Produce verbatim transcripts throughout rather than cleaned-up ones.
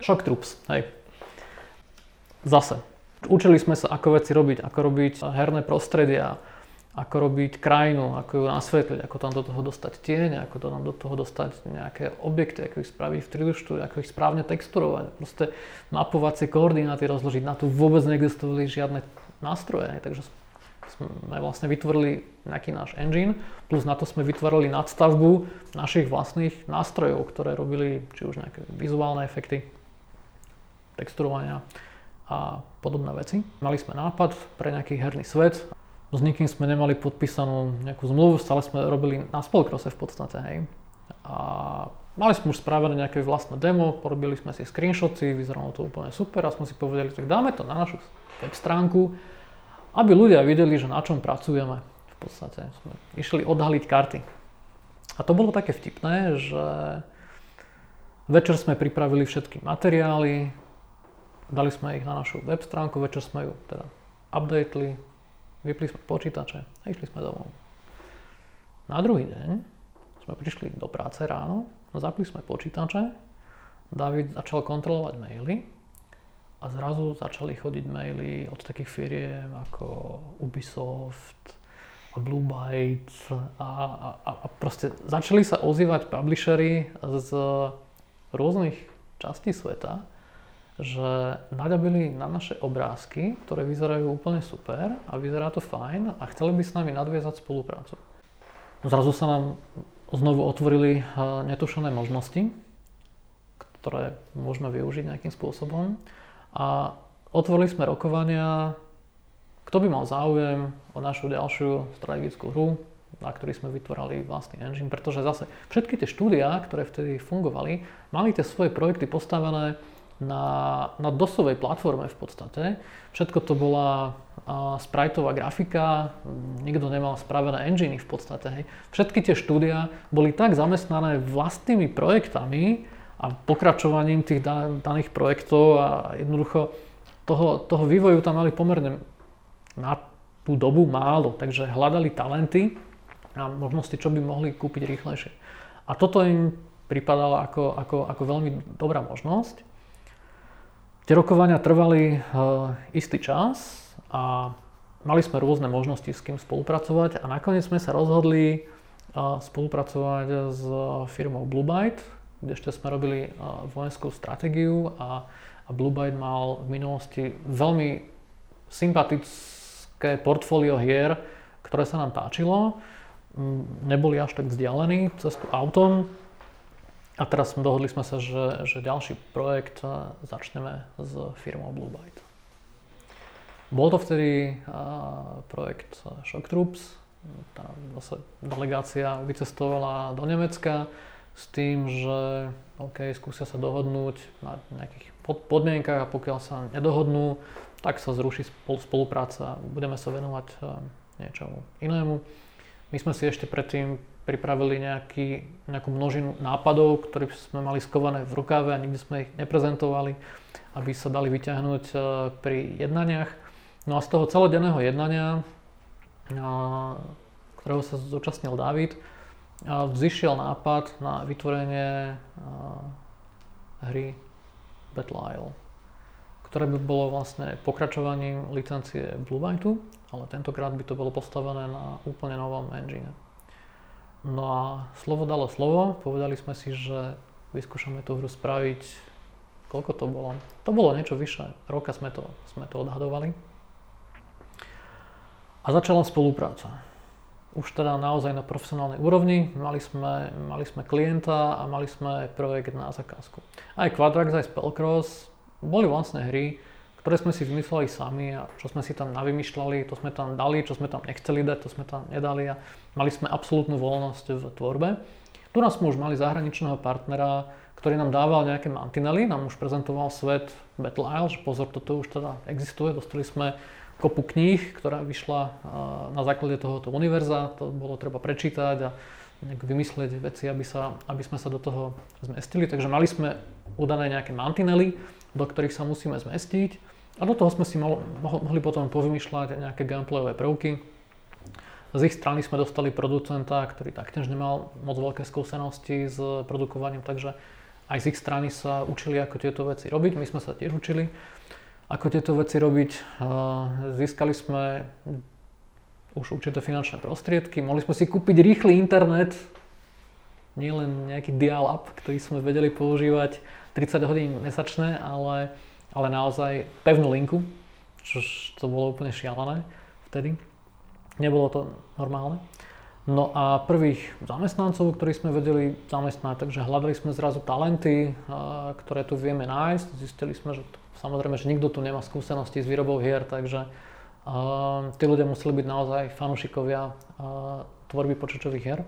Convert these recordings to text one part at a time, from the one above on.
Shock Troops, hej. Zase, učili sme sa, ako veci robiť, ako robiť herné prostredia, ako robiť krajinu, ako ju nasvetliť, ako tam do toho dostať tieň, ako to tam do toho dostať nejaké objekty, ako ich spraviť v tri dé štúdiu, ako ich správne texturovať. Proste mapovacie koordináty rozložiť, na to vôbec neexistovali žiadne nástroje, takže sme vlastne vytvorili nejaký náš engine, plus na to sme vytvorili nadstavbu našich vlastných nástrojov, ktoré robili či už nejaké vizuálne efekty, texturovania a podobné veci. Mali sme nápad pre nejaký herný svet, s nikým sme nemali podpísanú nejakú zmluvu, stále sme robili na spolkrose v podstate, hej. A mali sme už spravené nejaké vlastné demo, porobili sme si screenshoty, vyzeralo to úplne super a sme si povedali, tak dáme to na našu web stránku, aby ľudia videli, že na čom pracujeme. V podstate sme išli odhaliť karty. A to bolo také vtipné, že večer sme pripravili všetky materiály, dali sme ich na našu web stránku, večer sme ju teda updateli, vypli sme počítače a išli sme domov. Na druhý deň sme prišli do práce ráno, zapli sme počítače, David začal kontrolovať maily, a zrazu začali chodiť maily od takých firiem ako Ubisoft a Blue Byte a, a, a proste začali sa ozývať publishery z rôznych častí sveta, že naľabili na naše obrázky, ktoré vyzerajú úplne super a vyzerá to fajn a chceli by s nami nadviazať spoluprácu. Zrazu sa nám znovu otvorili netušené možnosti, ktoré môžeme využiť nejakým spôsobom. A otvorili sme rokovania, kto by mal záujem o našu ďalšiu strategickú hru, na ktorej sme vytvorili vlastný engine, pretože zase všetky tie štúdiá, ktoré vtedy fungovali, mali tie svoje projekty postavené na, na dosovej platforme v podstate. Všetko to bola uh, spriteová grafika, nikto nemal spravené enginy v podstate. Hej. Všetky tie štúdiá boli tak zamestnané vlastnými projektami, a pokračovaním tých daných projektov a jednoducho toho, toho vývoju tam mali pomerne na tú dobu málo, takže hľadali talenty a možnosti, čo by mohli kúpiť rýchlejšie. A toto im pripadalo ako, ako, ako veľmi dobrá možnosť. Tie rokovania trvali uh, istý čas a mali sme rôzne možnosti, s kým spolupracovať a nakoniec sme sa rozhodli uh, spolupracovať s firmou Blue Byte, kde ešte sme robili uh, vojenskú stratégiu a, a Blue Byte mal v minulosti veľmi sympatické portfólio hier, ktoré sa nám páčilo. Neboli až tak vzdialení cestu autom a teraz dohodli sme sa, že, že ďalší projekt začneme s firmou Blue Byte. Bol to vtedy uh, projekt Shock Troops. Tá zase delegácia vycestovala do Nemecka s tým, že OK, skúsia sa dohodnúť na nejakých podmienkach a pokiaľ sa nedohodnú, tak sa zruší spolupráca a budeme sa venovať niečomu inému. My sme si ešte predtým pripravili nejaký, nejakú množinu nápadov, ktoré sme mali skované v rukáve a nikdy sme ich neprezentovali, aby sa dali vyťahnuť pri jednaniach. No a z toho celodenného jednania, ktorého sa zúčastnil David, vzýšiel nápad na vytvorenie hry Battle Isle, ktoré by bolo vlastne pokračovaním licencie Blue Byteu, ale tentokrát by to bolo postavené na úplne novom engine. No a slovo dalo slovo, povedali sme si, že vyskúšame tú hru spraviť, koľko to bolo? To bolo niečo vyššie, roka sme to, sme to odhadovali. A začala spolupráca. Už teda naozaj na profesionálnej úrovni, mali sme, mali sme klienta a mali sme projekt na zakázku. Aj Quadrax, aj Spellcross boli vlastne hry, ktoré sme si vymysleli sami a čo sme si tam navymýšľali, to sme tam dali, čo sme tam nechceli dať, to sme tam nedali a mali sme absolútnu voľnosť v tvorbe. Tu nás sme už mali zahraničného partnera, ktorý nám dával nejaké mantinely, nám už prezentoval svet Battle Isle, že pozor, toto už teda existuje, dostali sme kopu kníh, ktorá vyšla na základe tohoto univerza, to bolo treba prečítať a vymyslieť veci, aby, sa, aby sme sa do toho zmestili. Takže mali sme udané nejaké mantinely, do ktorých sa musíme zmestiť a do toho sme si mohli, mohli potom povymýšľať nejaké gameplayové prvky. Z ich strany sme dostali producenta, ktorý taktiež nemal moc veľké skúsenosti s produkovaním, takže aj z ich strany sa učili, ako tieto veci robiť. My sme sa tiež učili, ako tieto veci robiť. Získali sme už určité finančné prostriedky. Mohli sme si kúpiť rýchly internet, nielen nejaký dial-up, ktorý sme vedeli používať tridsať hodín mesačne, ale, ale naozaj pevnú linku, čo to bolo úplne šialené vtedy. Nebolo to normálne. No a prvých zamestnancov, ktorých sme vedeli zamestnať, takže hľadali sme zrazu talenty, ktoré tu vieme nájsť. Zistili sme, že to, samozrejme, že nikto tu nemá skúsenosti s výrobou hier, takže uh, tí ľudia museli byť naozaj fanúšikovia uh, tvorby počítačových hier.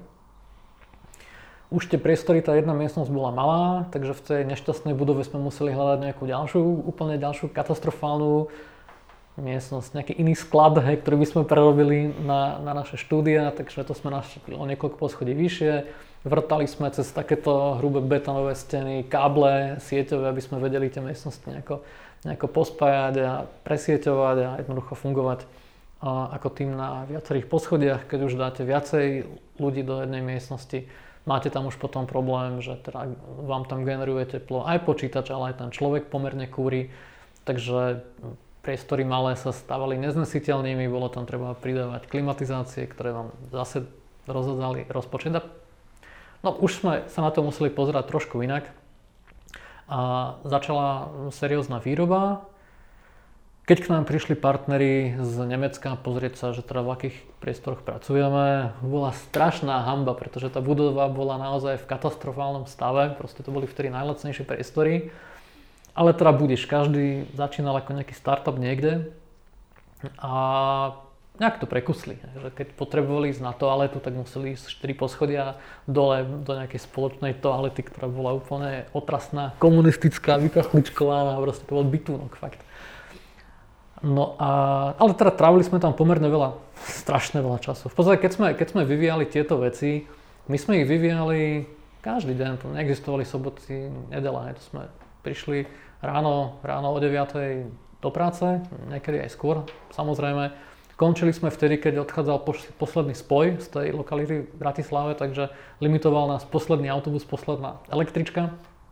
Už tie priestory, tá jedna miestnosť bola malá, takže v tej nešťastnej budove sme museli hľadať nejakú ďalšiu, úplne ďalšiu katastrofálnu miestnosť, nejaký iný sklad, hej, ktorý by sme prerobili na, na naše štúdia, takže to sme našli o niekoľko poschodí vyššie. Vrtali sme cez takéto hrubé betónové steny, káble sieťové, aby sme vedeli tie miestnosti nejako, nejako pospájať a presieťovať a jednoducho fungovať a, ako tým na viacerých poschodiach. Keď už dáte viacej ľudí do jednej miestnosti, máte tam už potom problém, že teda vám tam generuje teplo aj počítač, ale aj ten človek pomerne kúri, takže priestory malé sa stávali neznesiteľnými, bolo tam treba pridávať klimatizácie, ktoré vám zase rozhadzali rozpočet. No už sme sa na to museli pozerať trošku inak a začala seriózna výroba. Keď k nám prišli partneri z Nemecka pozrieť sa, že teda v akých priestoroch pracujeme, bola strašná hanba, pretože tá budova bola naozaj v katastrofálnom stave, proste to boli vtedy najlacnejšie priestory. Ale teda budeš, každý začínal ako nejaký startup niekde a nejak to prekusli. Že keď potrebovali ísť na toaletu, tak museli ísť štyri poschodia dole do nejakej spoločnej toalety, ktorá bola úplne otrasná, komunistická, vykachličkovaná, proste to bol bytúnok, fakt. No a, ale teda trávili sme tam pomerne veľa, strašne veľa času. V podstate, keď sme, keď sme vyvíjali tieto veci, my sme ich vyvíjali každý deň, to neexistovali soboty, nedela, to sme prišli ráno, ráno o deviatej do práce, niekedy aj skôr, samozrejme. Končili sme vtedy, keď odchádzal posledný spoj z tej lokality v Bratislave, takže limitoval nás posledný autobus, posledná električka.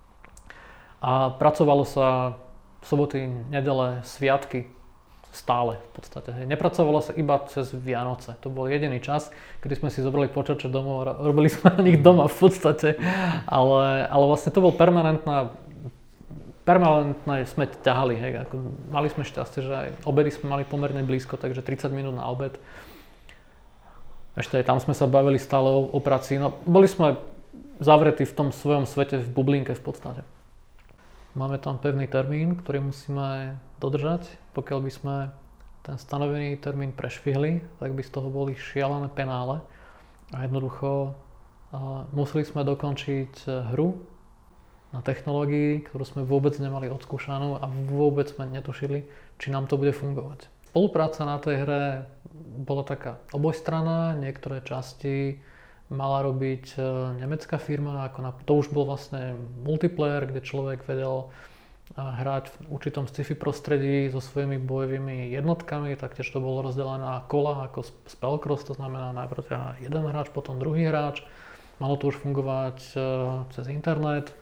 A pracovalo sa soboty, nedele, sviatky stále v podstate. Nepracovalo sa iba cez Vianoce. To bol jediný čas, kedy sme si zobrali počítače domov a robili sme na nich doma v podstate. Ale, ale vlastne to bol permanentná Permanentne sme ťahali, hej, ako mali sme šťastie, že aj obedy sme mali pomerne blízko, takže tridsať minút na obed. Ešte aj tam sme sa bavili stále o, o práci, no boli sme zavretí v tom svojom svete, v bublinke v podstate. Máme tam pevný termín, ktorý musíme dodržať, pokiaľ by sme ten stanovený termín prešvihli, tak by z toho boli šialené penále a jednoducho a museli sme dokončiť hru na technológii, ktorú sme vôbec nemali odskúšanú a vôbec sme netušili, či nám to bude fungovať. Spolupráca na tej hre bola taká obojstranná, niektoré časti mala robiť nemecká firma, ako na, to už bol vlastne multiplayer, kde človek vedel hrať v určitom sci-fi prostredí so svojimi bojovými jednotkami, taktiež to bolo rozdelené na kola ako Spellcross, to znamená najprv jeden hráč, potom druhý hráč. Malo to už fungovať cez internet.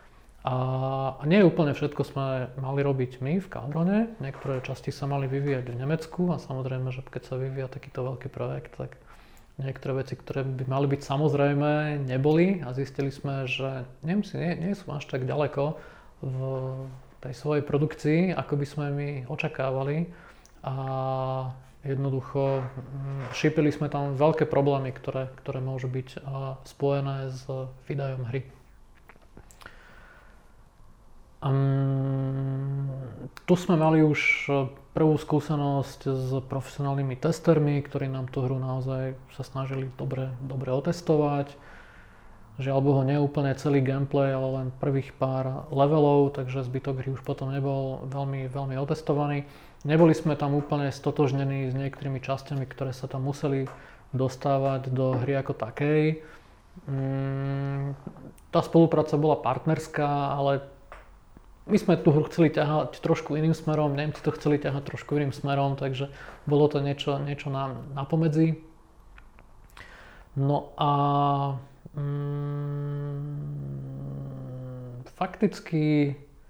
A nie úplne všetko sme mali robiť my v Kaldrone, niektoré časti sa mali vyvíjať v Nemecku a samozrejme, že keď sa vyvíja takýto veľký projekt, tak niektoré veci, ktoré by mali byť samozrejme, neboli a zistili sme, že Nemci nie, nie sú až tak ďaleko v tej svojej produkcii, ako by sme my očakávali a jednoducho šípili sme tam veľké problémy, ktoré, ktoré môžu byť spojené s výdajom hry. Um, tu sme mali už prvú skúsenosť s profesionálnymi testermi, ktorí nám tú hru naozaj sa snažili dobre, dobre otestovať. Žiaľ Bohu, nie úplne celý gameplay, ale len prvých pár levelov, takže zbytok hry už potom nebol veľmi, veľmi otestovaný. Neboli sme tam úplne stotožnení s niektorými časťami, ktoré sa tam museli dostávať do hry ako takej. Um, tá spolupráca bola partnerská, ale my sme tú hru chceli ťahať trošku iným smerom, Nemci to chceli ťahať trošku iným smerom, takže bolo to niečo, niečo na, na pomedzi. No a mm, fakticky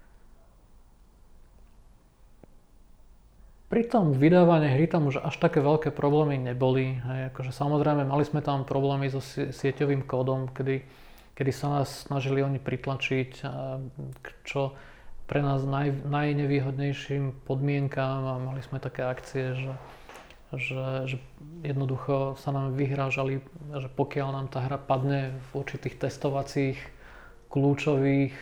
pri tom vydávaní hry tam už až také veľké problémy neboli. Hej, akože samozrejme mali sme tam problémy so sieťovým kódom, kedy, kedy sa nás snažili oni pritlačiť k čo pre nás naj, najnevýhodnejším podmienkám a mali sme také akcie, že, že, že jednoducho sa nám vyhrážali, že pokiaľ nám tá hra padne v určitých testovacích kľúčových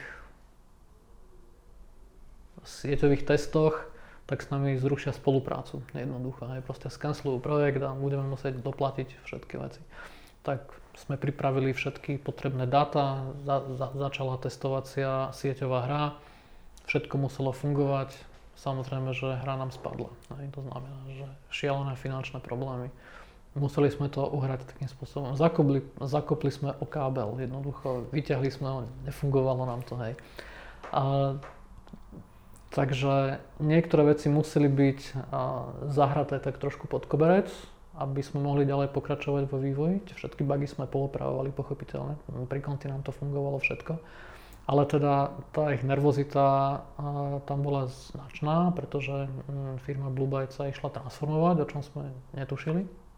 sieťových testoch, tak s nami zrušia spoluprácu. Jednoducho, aj proste skancelujú projekt a budeme musieť doplatiť všetky veci. Tak sme pripravili všetky potrebné dáta, za, za, začala testovacia sieťová hra, všetko muselo fungovať, samozrejme, že hra nám spadla. Aj to znamená, že šialené finančné problémy. Museli sme to uhrať takým spôsobom. Zakopli, zakopli sme o kábel, jednoducho, vyťahli sme ho, nefungovalo nám to, hej. A, takže niektoré veci museli byť a, zahraté tak trošku pod koberec, aby sme mohli ďalej pokračovať vo vývoji. Všetky bugy sme poopravovali pochopiteľne, pri konti nám to fungovalo všetko. Ale teda tá ich nervozita a, tam bola značná, pretože m, firma Blue Byte sa išla transformovať, o čom sme netušili.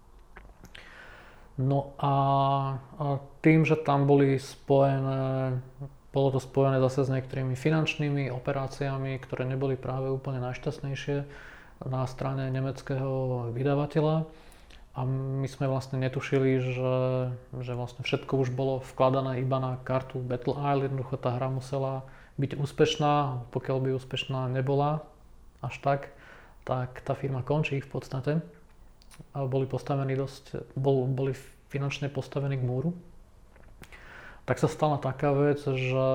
No a, a tým, že tam boli spojené Bolo to spojené zase s niektorými finančnými operáciami, ktoré neboli práve úplne najšťastnejšie na strane nemeckého vydavateľa. A my sme vlastne netušili, že, že vlastne všetko už bolo vkladané iba na kartu Battle Isle. Jednoducho tá hra musela byť úspešná. Pokiaľ by úspešná nebola až tak, tak tá firma končí v podstate. A boli postavení dosť, bol, boli finančne postavení k múru. Tak sa stala taká vec, že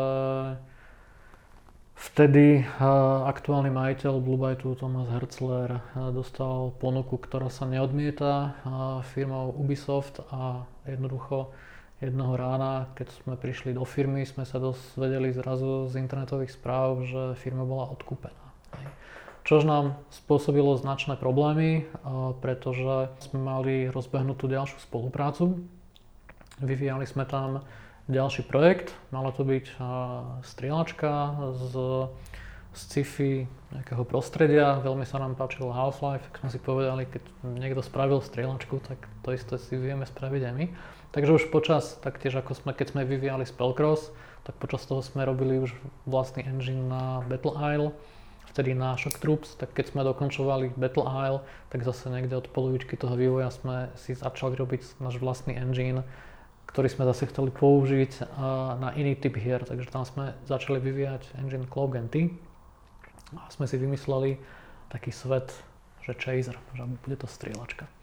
vtedy aktuálny majiteľ Blue Byteu Thomas Herzler dostal ponuku, ktorá sa neodmieta firmou Ubisoft a jednoducho jedného rána, keď sme prišli do firmy, sme sa dozvedeli zrazu z internetových správ, že firma bola odkúpená. Čož nám spôsobilo značné problémy, pretože sme mali rozbehnutú ďalšiu spoluprácu. Vyvíjali sme tam ďalší projekt, malo to byť strieľačka z sci-fi nejakého prostredia, veľmi sa nám páčilo Half-Life, tak sme si povedali, keď niekto spravil strieľačku, tak to isté si vieme spraviť aj my. Takže už počas, taktiež ako sme, keď sme vyvíjali Spellcross, tak počas toho sme robili už vlastný engine na Battle Isle, vtedy na Shock Troops, tak keď sme dokončovali Battle Isle, tak zase niekde od polovičky toho vývoja sme si začali robiť náš vlastný engine, ktorý sme zase chceli použiť na iný typ hier, takže tam sme začali vyvíjať engine Cloak and T a sme si vymysleli taký svet, že Chaser, že bude to strieľačka.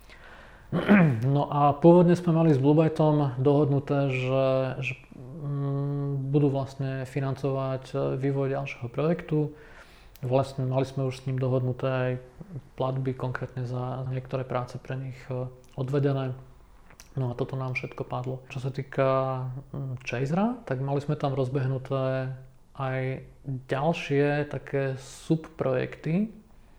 No a pôvodne sme mali s Blue Byteom dohodnuté, že, že mm, budú vlastne financovať vývoj ďalšieho projektu. Vlastne mali sme už s ním dohodnuté aj platby konkrétne za niektoré práce pre nich odvedené. No a toto nám všetko padlo. Čo sa týka Chasera, tak mali sme tam rozbehnuté aj ďalšie také subprojekty,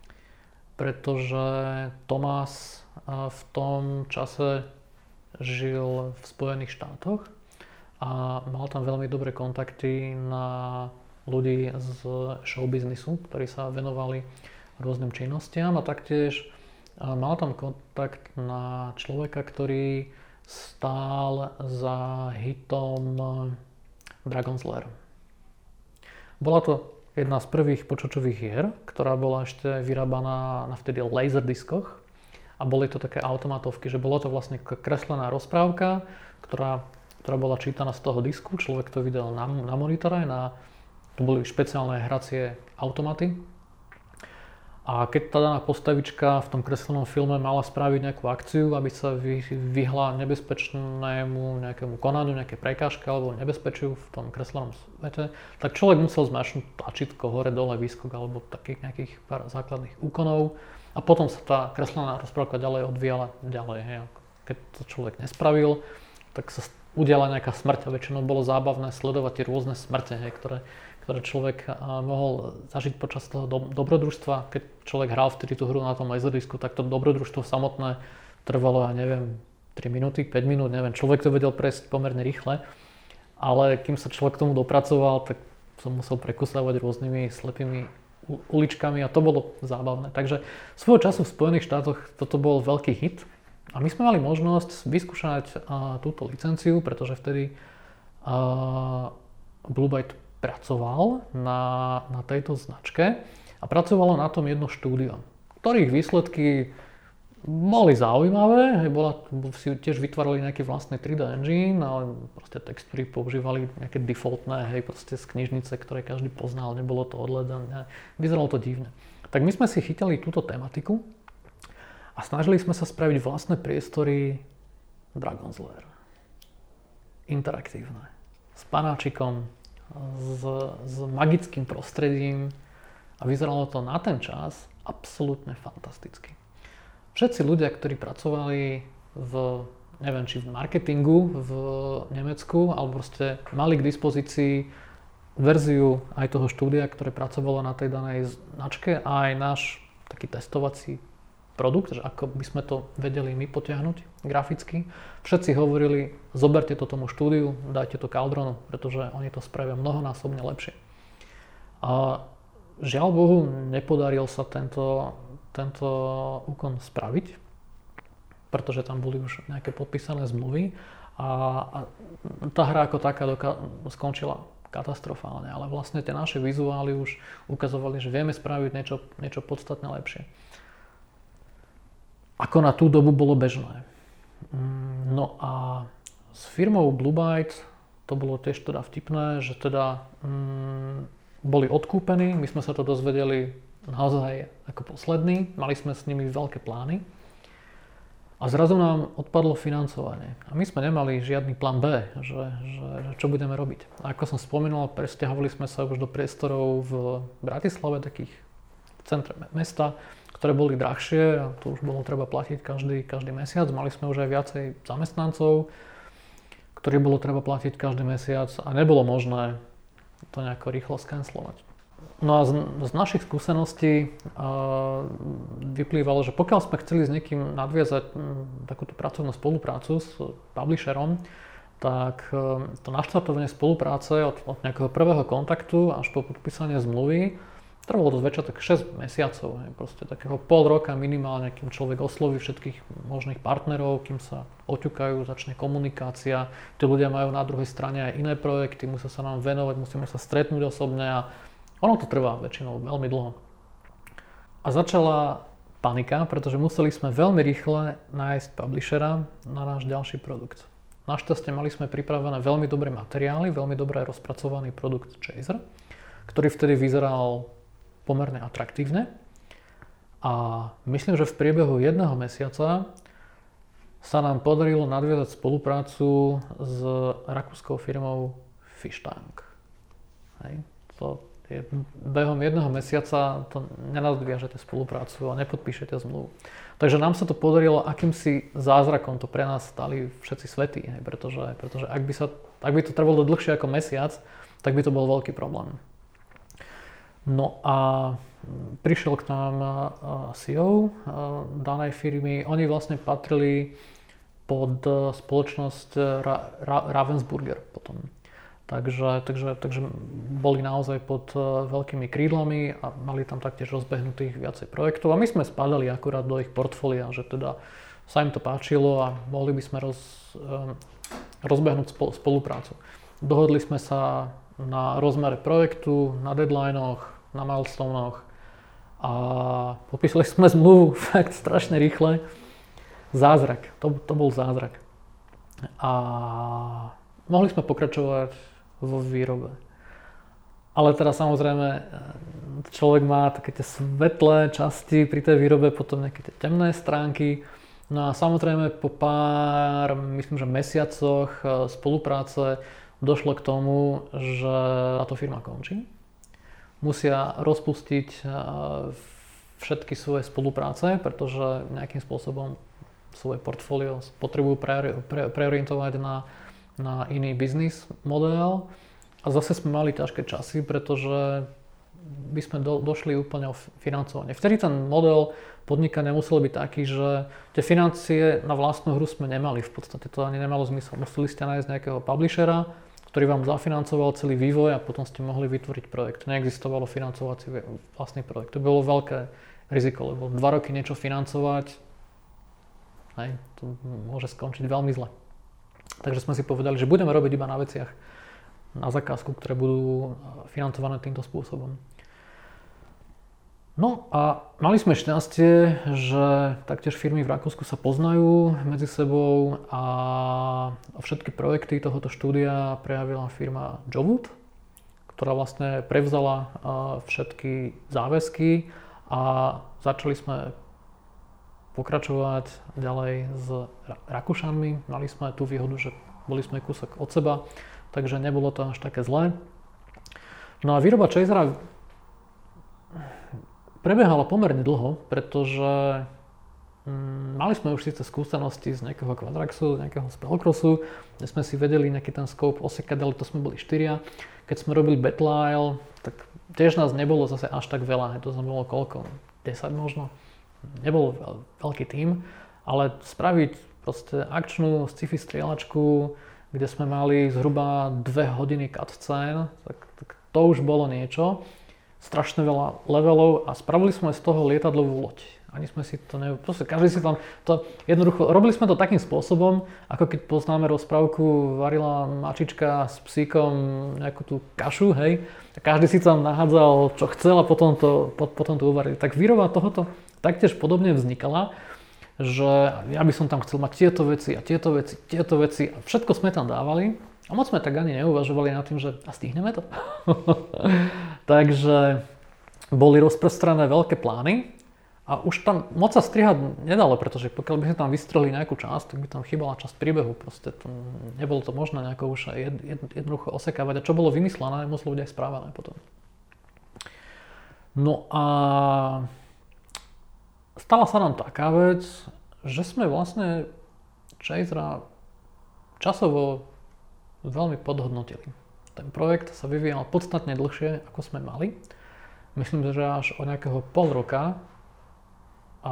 pretože Tomás v tom čase žil v Spojených štátoch a mal tam veľmi dobré kontakty na ľudí z showbiznisu, ktorí sa venovali rôznym činnostiam a taktiež mal tam kontakt na človeka, ktorý stál za hitom Dragon's Lair. Bola to jedna z prvých počítačových hier, ktorá bola ešte vyrábaná na vtedy laserdiskoch a boli to také automatovky, že bolo to vlastne kreslená rozprávka, ktorá, ktorá bola čítaná z toho disku, človek to videl na, na monitore, na, to boli špeciálne hracie automaty. A keď tá daná postavička v tom kreslenom filme mala spraviť nejakú akciu, aby sa vyhla nebezpečnému nejakému konaniu, nejaké prekážke alebo nebezpečiu v tom kreslenom svete, tak človek musel zmašnúť tlačítko hore, dole, výskok alebo takých nejakých pár základných úkonov a potom sa tá kreslená rozprávka ďalej odvíjala ďalej. Hej. Keď to človek nespravil, tak sa udiala nejaká smrť a väčšinou bolo zábavné sledovať tie rôzne smrte, hej, ktoré ktoré človek mohol zažiť počas toho do, dobrodružstva. Keď človek hral vtedy tú hru na tom laserdisku, tak to dobrodružstvo samotné trvalo, ja neviem, tri minúty, päť minút, neviem. Človek to vedel prejsť pomerne rýchle, ale kým sa človek k tomu dopracoval, tak som musel prekusávať rôznymi slepými uličkami a to bolo zábavné. Takže svojho času v Spojených štátoch toto bol veľký hit a my sme mali možnosť vyskúšať uh, túto licenciu, pretože vtedy uh, Blue Byte pracoval na, na tejto značke a pracovalo na tom jedno štúdio, ktorých výsledky boli zaujímavé, hej, bola, si tiež vytvárali nejaký vlastný tri dé engine, ale proste textúry používali nejaké defaultné, hej, proste z knižnice, ktoré každý poznal, nebolo to odhľadané, vyzeralo to divne. Tak my sme si chytili túto tematiku a snažili sme sa spraviť vlastné priestory Dragon's Lair. Interaktívne. S panáčikom, s, s magickým prostredím a vyzeralo to na ten čas absolútne fantasticky. Všetci ľudia, ktorí pracovali v, neviem, či v marketingu v Nemecku, alebo proste mali k dispozícii verziu aj toho štúdia, ktoré pracovalo na tej danej značke a aj náš taký testovací produkt, že ako by sme to vedeli my potiahnuť graficky. Všetci hovorili, zoberte to tomu štúdiu, dajte to Cauldronu, pretože oni to spravia mnohonásobne lepšie. A žiaľ Bohu, nepodaril sa tento tento úkon spraviť, pretože tam boli už nejaké podpísané zmluvy a, a tá hra ako taká doka- skončila katastrofálne, ale vlastne tie naše vizuály už ukazovali, že vieme spraviť niečo, niečo podstatne lepšie. Ako na tú dobu bolo bežné. No a s firmou Blue Byte to bolo tiež teda vtipné, že teda mm, boli odkúpení, my sme sa to dozvedeli naozaj ako posledný, mali sme s nimi veľké plány a zrazu nám odpadlo financovanie. A my sme nemali žiadny plán B, že, že, že čo budeme robiť. A ako som spomínal, presťahovali sme sa už do priestorov v Bratislave, takých v centre mesta, ktoré boli drahšie a to už bolo treba platiť každý, každý mesiac. Mali sme už aj viacej zamestnancov, ktorých bolo treba platiť každý mesiac a nebolo možné to nejako rýchlo skancelovať. No a z, z našich skúseností uh, vyplývalo, že pokiaľ sme chceli s niekým nadviazať m, takúto pracovnú spoluprácu s publisherom, tak um, to naštartovanie spolupráce od, od nejakého prvého kontaktu až po podpísanie zmluvy trvalo dosť väčšie, tak šesť mesiacov, hej, proste takého pol roka minimálne, kým človek osloví všetkých možných partnerov, kým sa oťukajú, začne komunikácia, tí ľudia majú na druhej strane aj iné projekty, musia sa nám venovať, musíme sa stretnúť osobne a ono to trvá väčšinou veľmi dlho. A začala panika, pretože museli sme veľmi rýchle nájsť publishera na náš ďalší produkt. Našťastie mali sme pripravené veľmi dobré materiály, veľmi dobre rozpracovaný produkt Chaser, ktorý vtedy vyzeral pomerne atraktívne. A myslím, že v priebehu jedného mesiaca sa nám podarilo nadviazať spoluprácu s rakúskou firmou Fishtank. Hej, to je, behom jedného mesiaca to nenadviažete spoluprácu a nepodpíšete zmluvu. Takže nám sa to podarilo akýmsi zázrakom, to pre nás stali všetci svätí, hej, pretože, pretože ak by sa, ak by to trvalo dlhšie ako mesiac, tak by to bol veľký problém. No a prišiel k nám C E O danej firmy, oni vlastne patrili pod spoločnosť Ra- Ra- Ravensburger potom. Takže, takže, takže boli naozaj pod veľkými krídlami a mali tam taktiež rozbehnutých viacej projektov a my sme spadali akurát do ich portfólia, že teda sa im to páčilo a mohli by sme roz, rozbehnúť spoluprácu. Dohodli sme sa na rozmere projektu, na deadlinoch, na milestonoch a popísali sme zmluvu fakt strašne rýchle. Zázrak, to, to bol zázrak. A mohli sme pokračovať vo výrobe. Ale teda samozrejme človek má také tie svetlé časti pri tej výrobe, potom nejaké tie temné stránky. No a samozrejme po pár, myslím, že mesiacoch spolupráce došlo k tomu, že táto firma končí. Musia rozpustiť všetky svoje spolupráce, pretože nejakým spôsobom svoje portfólio potrebujú pre, pre, preorientovať na, na iný biznis model. A zase sme mali ťažké časy, pretože by sme do, došli úplne o financovanie. Vtedy ten model podnikania musel byť taký, že tie financie na vlastnú hru sme nemali v podstate. To ani nemalo zmysel. Museli ste nájsť nejakého publishera, ktorý vám zafinancoval celý vývoj a potom ste mohli vytvoriť projekt. Neexistovalo financovací vlastný projekt. To bolo veľké riziko, lebo dva roky niečo financovať, hej, to môže skončiť veľmi zle. Takže sme si povedali, že budeme robiť iba na veciach na zakázku, ktoré budú financované týmto spôsobom. No a mali sme šťastie, že taktiež firmy v Rakúsku sa poznajú medzi sebou a všetky projekty tohoto štúdia prejavila firma Jowood, ktorá vlastne prevzala všetky záväzky a začali sme pokračovať ďalej s Rakúšanmi. Mali sme tú výhodu, že boli sme kúsok od seba, takže nebolo to až také zlé. No a výroba Chasera prebiehala pomerne dlho, pretože mm, mali sme už síce skúsenosti z nejakého Quadraxu, z nejakého Spellcrossu, kde sme si vedeli nejaký ten scope osekať, ale to sme boli štyria. Keď sme robili Battle, tak tiež nás nebolo zase až tak veľa, to sme bolo koľko? desať možno? Nebol veľký tím, ale spraviť proste akčnú sci-fi strieľačku, kde sme mali zhruba dve hodiny cutscene, tak, tak to už bolo niečo. Strašne veľa levelov a spravili sme z toho lietadlovú loď. Ani sme si to ne... Proste každý si tam to jednoducho... Robili sme to takým spôsobom, ako keď poznáme rozprávku, varila mačička s psíkom nejakú tú kašu, hej. A každý si tam nahádzal, čo chcel a potom to, potom to uvarili. Tak výroba tohoto taktiež podobne vznikala, že ja by som tam chcel mať tieto veci a tieto veci, tieto veci a všetko sme tam dávali. A moc sme tak ani neuvažovali nad tým, že a stihneme to. Takže boli rozprestrené veľké plány a už tam moc sa strihať nedalo, pretože pokiaľ by sme tam vystrelili nejakú časť, tak by tam chýbala časť príbehu. Proste to, nebolo to možné nejako už jed, jed, jednoducho osekávať. A čo bolo vymyslené, muselo byť aj správané potom. No a stala sa nám taká vec, že sme vlastne Chasera časovo veľmi podhodnotili. Ten projekt sa vyvíjal podstatne dlhšie, ako sme mali. Myslím, že až o nejakého pol roka. A,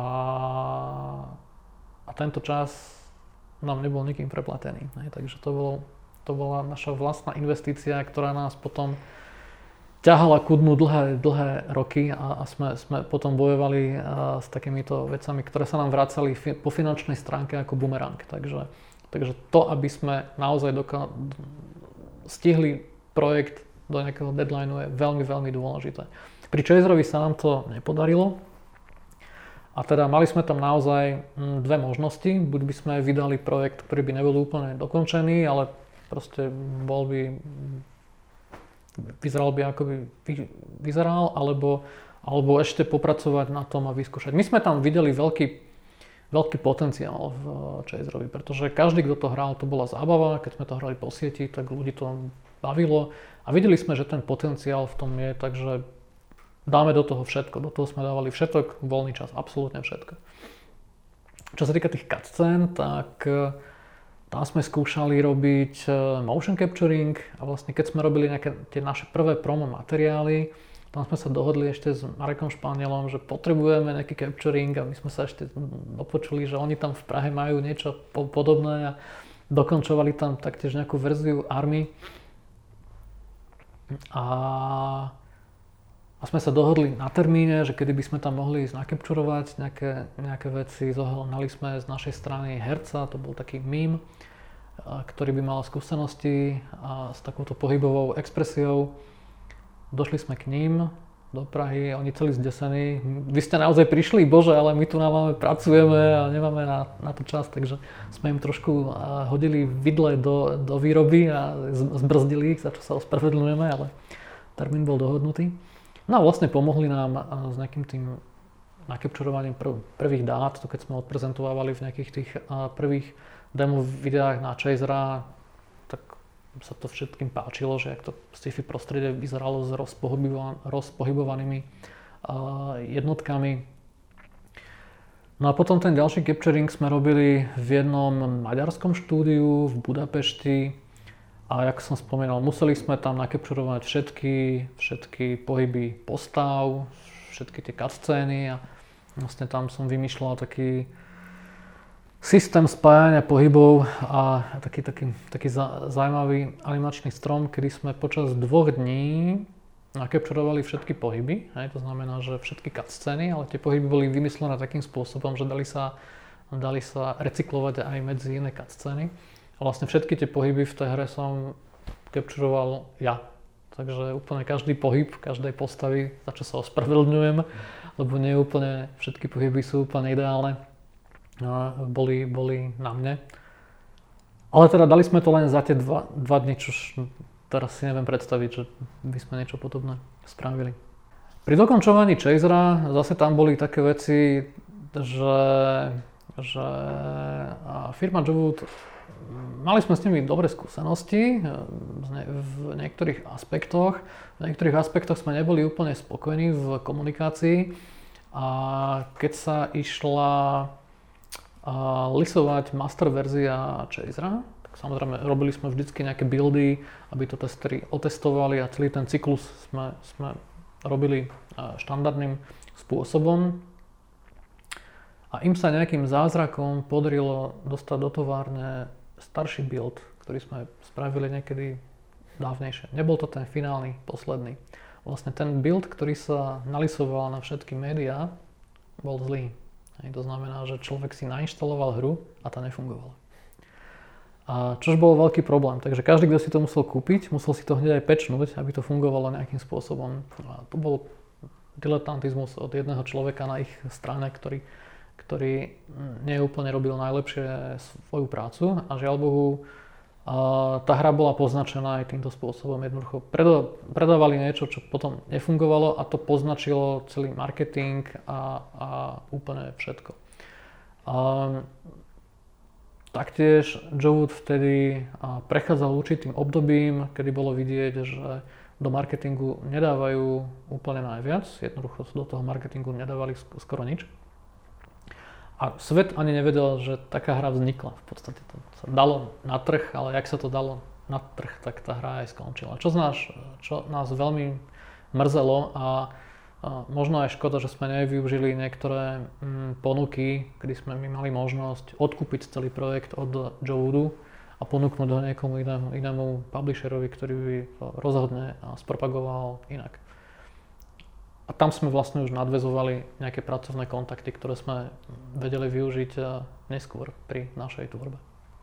a tento čas nám nebol nikým preplatený. Ne? Takže to, bolo, to bola naša vlastná investícia, ktorá nás potom ťahala ku dnu dlhé, dlhé roky a, a sme, sme potom bojovali a, s takýmito vecami, ktoré sa nám vracali fi, po finančnej stránke ako bumerang. Takže Takže to, aby sme naozaj doka- stihli projekt do nejakého deadlineu je veľmi, veľmi dôležité. Pri Chaserovi sa nám to nepodarilo a teda mali sme tam naozaj dve možnosti. Buď by sme vydali projekt, ktorý by nebol úplne dokončený, ale proste bol by, vyzeral by ako by vyzeral, alebo, alebo ešte popracovať na tom a vyskúšať. My sme tam videli veľký veľký potenciál v Chaserovi, pretože každý, kto to hral, to bola zábava, keď sme to hrali po sieti, tak ľudí to bavilo a videli sme, že ten potenciál v tom je, takže dáme do toho všetko, do toho sme dávali všetok, voľný čas, absolútne všetko. Čo sa týka tých cutscén, tak tam sme skúšali robiť motion capturing a vlastne keď sme robili nejaké tie naše prvé promo materiály, tam sme sa dohodli ešte s Marekom Španielom, že potrebujeme nejaký capturing a my sme sa ešte dopočuli, že oni tam v Prahe majú niečo po- podobné a dokončovali tam taktiež nejakú verziu Army. A, a sme sa dohodli na termíne, že kedy by sme tam mohli ísť nakapčurovať nejaké, nejaké veci. Zohnali sme z našej strany herca, to bol taký mím, ktorý by mal skúsenosti a s takouto pohybovou expresiou. Došli sme k ním do Prahy, oni celí zdesení. Vy ste naozaj prišli, bože, ale my tu máme, pracujeme a nemáme na, na to čas, takže sme im trošku hodili vidle do, do výroby a zbrzdili ich, za čo sa ospravedlňujeme, ale termín bol dohodnutý. No a vlastne pomohli nám s nejakým tým nakapčurovaním prv, prvých dát, to keď sme odprezentovali v nejakých tých prvých demo videách na Chasera, tak sa to všetkým páčilo, že jak to sci-fi prostredie vyzeralo s rozpohybovan- rozpohybovanými uh, jednotkami. No a potom ten ďalší capturing sme robili v jednom maďarskom štúdiu v Budapešti a jak som spomínal, museli sme tam nakapčurovať všetky, všetky pohyby postav, všetky tie cutscény a vlastne tam som vymýšľal taký systém spájania pohybov a taký, taký, taký zaujímavý animačný strom, kedy sme počas dvoch dní nakapturovali všetky pohyby. Hej, to znamená, že všetky cutscény, ale tie pohyby boli vymyslené takým spôsobom, že dali sa, dali sa recyklovať aj medzi iné cutscény. A vlastne všetky tie pohyby v tej hre som kapturoval ja. Takže úplne každý pohyb každej postavy, za čo sa ospravedlňujem, lebo nie úplne všetky pohyby sú úplne ideálne. Boli, boli na mne. Ale teda dali sme to len za tie dva, dva dni, čož teraz si neviem predstaviť, že by sme niečo podobné spravili. Pri dokončovaní Chasera zase tam boli také veci, že, že firma Jowood, mali sme s nimi dobré skúsenosti v niektorých aspektoch. V niektorých aspektoch sme neboli úplne spokojní v komunikácii a keď sa išla a lisovať master verzia Chasera, tak samozrejme robili sme vždycky nejaké buildy, aby to testeri otestovali a celý ten cyklus sme, sme robili štandardným spôsobom. A im sa nejakým zázrakom podarilo dostať do továrne starší build, ktorý sme spravili niekedy dávnejšie. Nebol to ten finálny, posledný. Vlastne ten build, ktorý sa nalisoval na všetky médiá, bol zlý. Hej, to znamená, že človek si nainštaloval hru a tá nefungovala. A čož bol veľký problém, takže každý, kto si to musel kúpiť, musel si to hneď aj patchnúť, aby to fungovalo nejakým spôsobom. A to bol diletantizmus od jedného človeka na ich strane, ktorý, ktorý neúplne robil najlepšie svoju prácu a žiaľ Bohu, a tá hra bola poznačená aj týmto spôsobom. Jednoducho predávali niečo, čo potom nefungovalo a to poznačilo celý marketing a, a úplne všetko. A taktiež Jowood vtedy prechádzal určitým obdobím, kedy bolo vidieť, že do marketingu nedávajú úplne najviac. Jednoducho do toho marketingu nedávali skoro nič. A svet ani nevedel, že taká hra vznikla. V podstate to sa dalo na trh, ale jak sa to dalo na trh, tak tá hra aj skončila. Čo, nás, čo nás veľmi mrzelo a, a možno aj škoda, že sme nevyužili niektoré mm, ponuky, kedy sme my mali možnosť odkúpiť celý projekt od Jowoodu a ponúknuť ho niekomu inému, inému publisherovi, ktorý by to rozhodne spropagoval inak. A tam sme vlastne už nadväzovali nejaké pracovné kontakty, ktoré sme vedeli využiť neskôr pri našej tvorbe.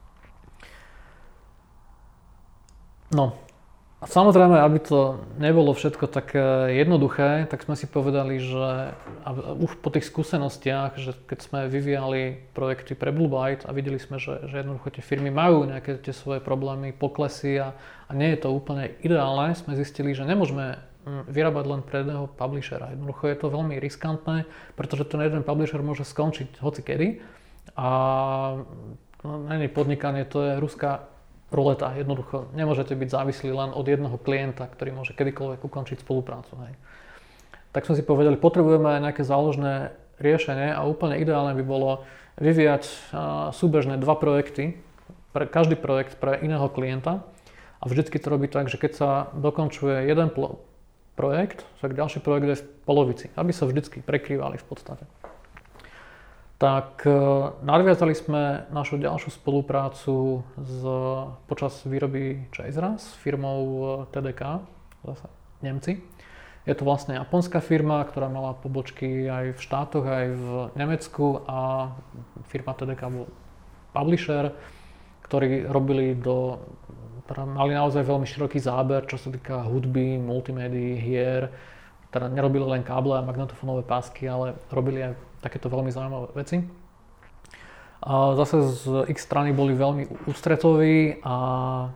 No a samozrejme, aby to nebolo všetko tak jednoduché, tak sme si povedali, že už po tých skúsenostiach, že keď sme vyvíjali projekty pre Blue Byte a videli sme, že, že jednoducho tie firmy majú nejaké tie svoje problémy, poklesy a, a nie je to úplne ideálne, sme zistili, že nemôžeme vyrábať len pre jedného publishera. Jednoducho je to veľmi riskantné, pretože ten jeden publisher môže skončiť hocikedy a no, nie podnikanie, to je ruská ruleta. Jednoducho nemôžete byť závislí len od jedného klienta, ktorý môže kedykoľvek ukončiť spoluprácu. Hej. Tak sme si povedali, potrebujeme nejaké záložné riešenie a úplne ideálne by bolo vyvíjať súbežné dva projekty, pre každý projekt pre iného klienta a vždycky to robí tak, že keď sa dokončuje jeden pl- projekt, tak ďalší projekt je v polovici, aby sa vždycky prekrývali v podstate. Tak nadviazali sme našu ďalšiu spoluprácu z, počas výroby Chasera s firmou té dé ká, zase Nemci. Je to vlastne japonská firma, ktorá mala pobočky aj v štátoch, aj v Nemecku a firma té dé ká bol publisher, ktorí robili do teda mali naozaj veľmi široký záber, čo sa týka hudby, multimédií, hier. Teda nerobili len káble a magnetofónové pásky, ale robili aj takéto veľmi zaujímavé veci. A zase z ich strany boli veľmi ústretoví a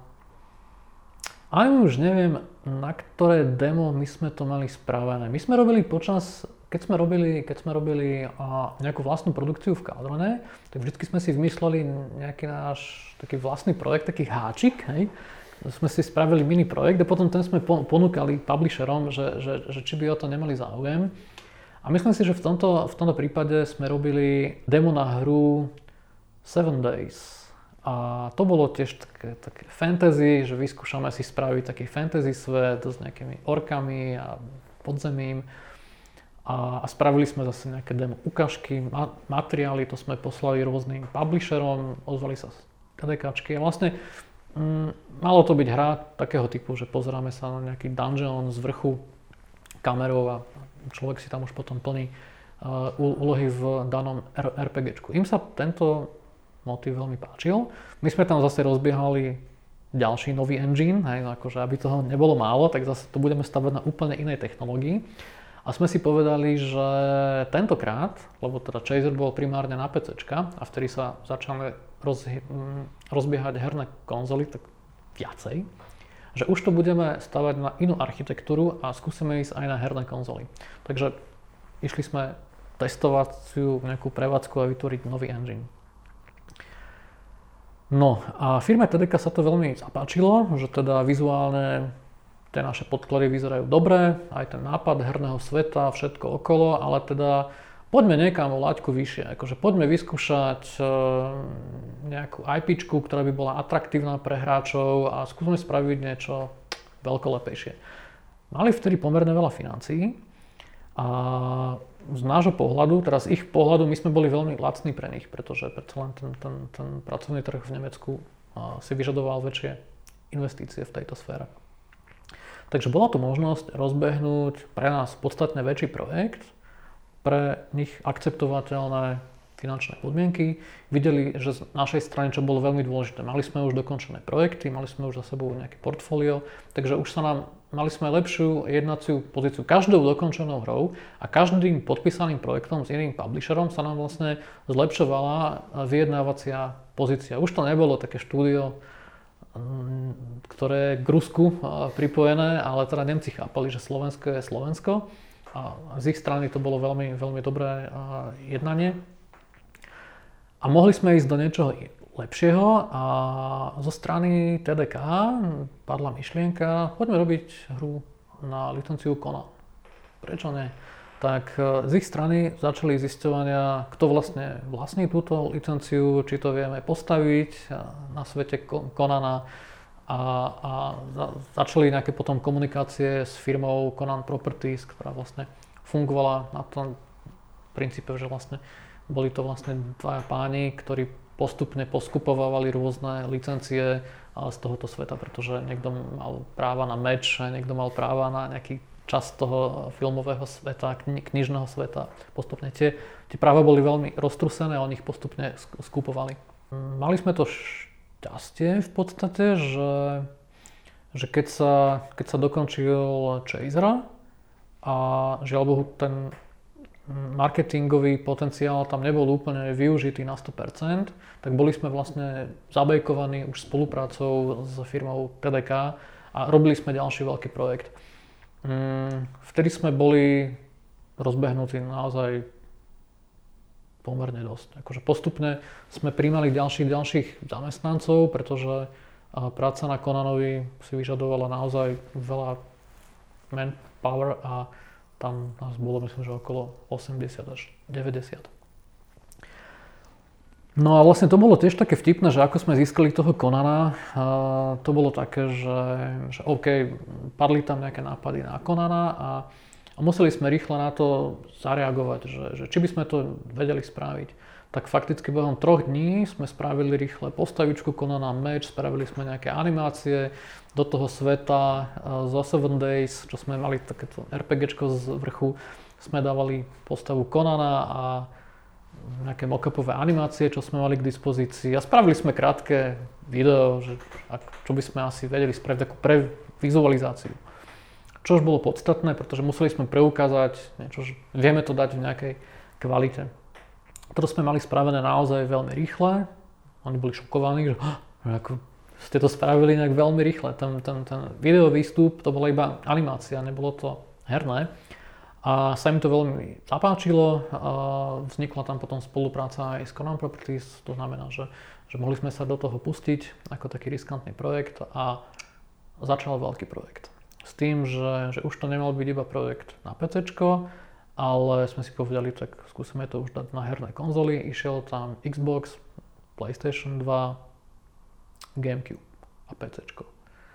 aj už neviem, na ktoré demo my sme to mali spravené. My sme robili počas, keď sme robili, keď sme robili nejakú vlastnú produkciu v Kaldrone, tak vždycky sme si vymysleli nejaký náš taký vlastný projekt, taký háčik, hej. Sme si spravili mini projekt a potom ten sme ponúkali publisherom, že, že, že či by o to nemali záujem. A myslím si, že v tomto, v tomto prípade sme robili demo na hru Seven Days. A to bolo tiež také, také fantasy, že vyskúšame si spraviť taký fantasy svet s nejakými orkami a podzemím. a, a spravili sme zase nejaké demo ukážky, ma, materiály, to sme poslali rôznym publisherom, ozvali sa TDKčky a vlastne mm, malo to byť hra takého typu, že pozeráme sa na nejaký dungeon z vrchu kamerou a človek si tam už potom plní uh, úlohy v danom RPGčku. Im sa tento motív veľmi páčil. My sme tam zase rozbiehali ďalší nový engine, hej, akože aby toho nebolo málo, tak zase to budeme stavať na úplne inej technológii. A sme si povedali, že tentokrát, lebo teda Chaser bol primárne na PCčka a vtedy sa začali roz, rozbiehať herné konzoly, tak viacej, že už to budeme stavať na inú architektúru a skúsime ísť aj na herné konzoly. Takže išli sme testovaciu nejakú prevádzku a vytvoriť nový engine. No a firme té dé ká sa to veľmi zapáčilo, že teda vizuálne tie naše podklady vyzerajú dobre, aj ten nápad herného sveta, všetko okolo, ale teda poďme niekam o laťku vyššie, akože poďme vyskúšať e, nejakú IPčku, ktorá by bola atraktívna pre hráčov a skúsme spraviť niečo veľkolepejšie. Mali vtedy pomerne veľa financií a z nášho pohľadu, teraz z ich pohľadu, my sme boli veľmi lacní pre nich, pretože predsa len ten, ten, ten pracovný trh v Nemecku si vyžadoval väčšie investície v tejto sfére. Takže bola tu možnosť rozbehnúť pre nás podstatne väčší projekt, pre nich akceptovateľné finančné podmienky. Videli, že z našej strany, čo bolo veľmi dôležité, mali sme už dokončené projekty, mali sme už za sebou nejaké portfólio, takže už sa nám mali sme lepšiu jednaciu pozíciu každou dokončenou hrou a každým podpísaným projektom s iným publisherom sa nám vlastne zlepšovala vyjednávacia pozícia. Už to nebolo také štúdio, ktoré je k Rusku pripojené, ale teda Nemci chápali, že Slovensko je Slovensko a z ich strany to bolo veľmi, veľmi dobré jednanie. A mohli sme ísť do niečoho lepšieho a zo strany té dé ká padla myšlienka, poďme robiť hru na licenciu Conan. Prečo nie? Tak z ich strany začali zisťovania, kto vlastne vlastní túto licenciu, či to vieme postaviť na svete Conana a, a začali nejaké potom komunikácie s firmou Conan Properties, ktorá vlastne fungovala na tom princípe, že vlastne boli to vlastne dvaja páni, ktorí postupne poskupovali rôzne licencie z tohoto sveta, pretože niekto mal práva na meč, niekto mal práva na nejaký časť toho filmového sveta, kni- knižného sveta. Postupne tie, tie práva boli veľmi roztrusené a oni ich postupne skupovali. Mali sme to šťastie v podstate, že, že keď, sa, keď sa dokončil Chaser a žiaľ Bohu ten marketingový potenciál tam nebol úplne využitý na sto percent, tak boli sme vlastne zabejkovaní už spoluprácou s firmou té dé ká a robili sme ďalší veľký projekt. Vtedy sme boli rozbehnutí naozaj pomerne dosť. Akože postupne sme prijímali ďalších, ďalších zamestnancov, pretože práca na Conanovi si vyžadovala naozaj veľa manpower a tam nás bolo, myslím, že okolo osemdesiat až deväťdesiat. No a vlastne to bolo tiež také vtipné, že ako sme získali toho Conana, to bolo také, že, že OK, padli tam nejaké nápady na Conana a, a museli sme rýchle na to zareagovať, že, že či by sme to vedeli spraviť. Tak fakticky behom troch dní sme spravili rýchle postavičku Conana Match, spravili sme nejaké animácie do toho sveta zo seven days, čo sme mali takéto RPGčko z vrchu, sme dávali postavu Conana a nejaké mock-upové animácie, čo sme mali k dispozícii a spravili sme krátke video, že, čo by sme asi vedeli spraviť takú pre vizualizáciu. Čo už bolo podstatné, pretože museli sme preukázať niečo, že vieme to dať v nejakej kvalite. Toto sme mali spravené naozaj veľmi rýchle. Oni boli šokovaní, že, že ako ste to spravili nejak veľmi rýchle. Ten, ten, ten video výstup, to bola iba animácia, nebolo to herné. A sa im to veľmi zapáčilo. A vznikla tam potom spolupráca aj s Conan Properties. To znamená, že, že mohli sme sa do toho pustiť ako taký riskantný projekt a začal veľký projekt. S tým, že, že už to nemal byť iba projekt na PCčko, ale sme si povedali, tak skúsime to už dať na herné konzoly. Išiel tam Xbox, PlayStation dva, GameCube a PCčko.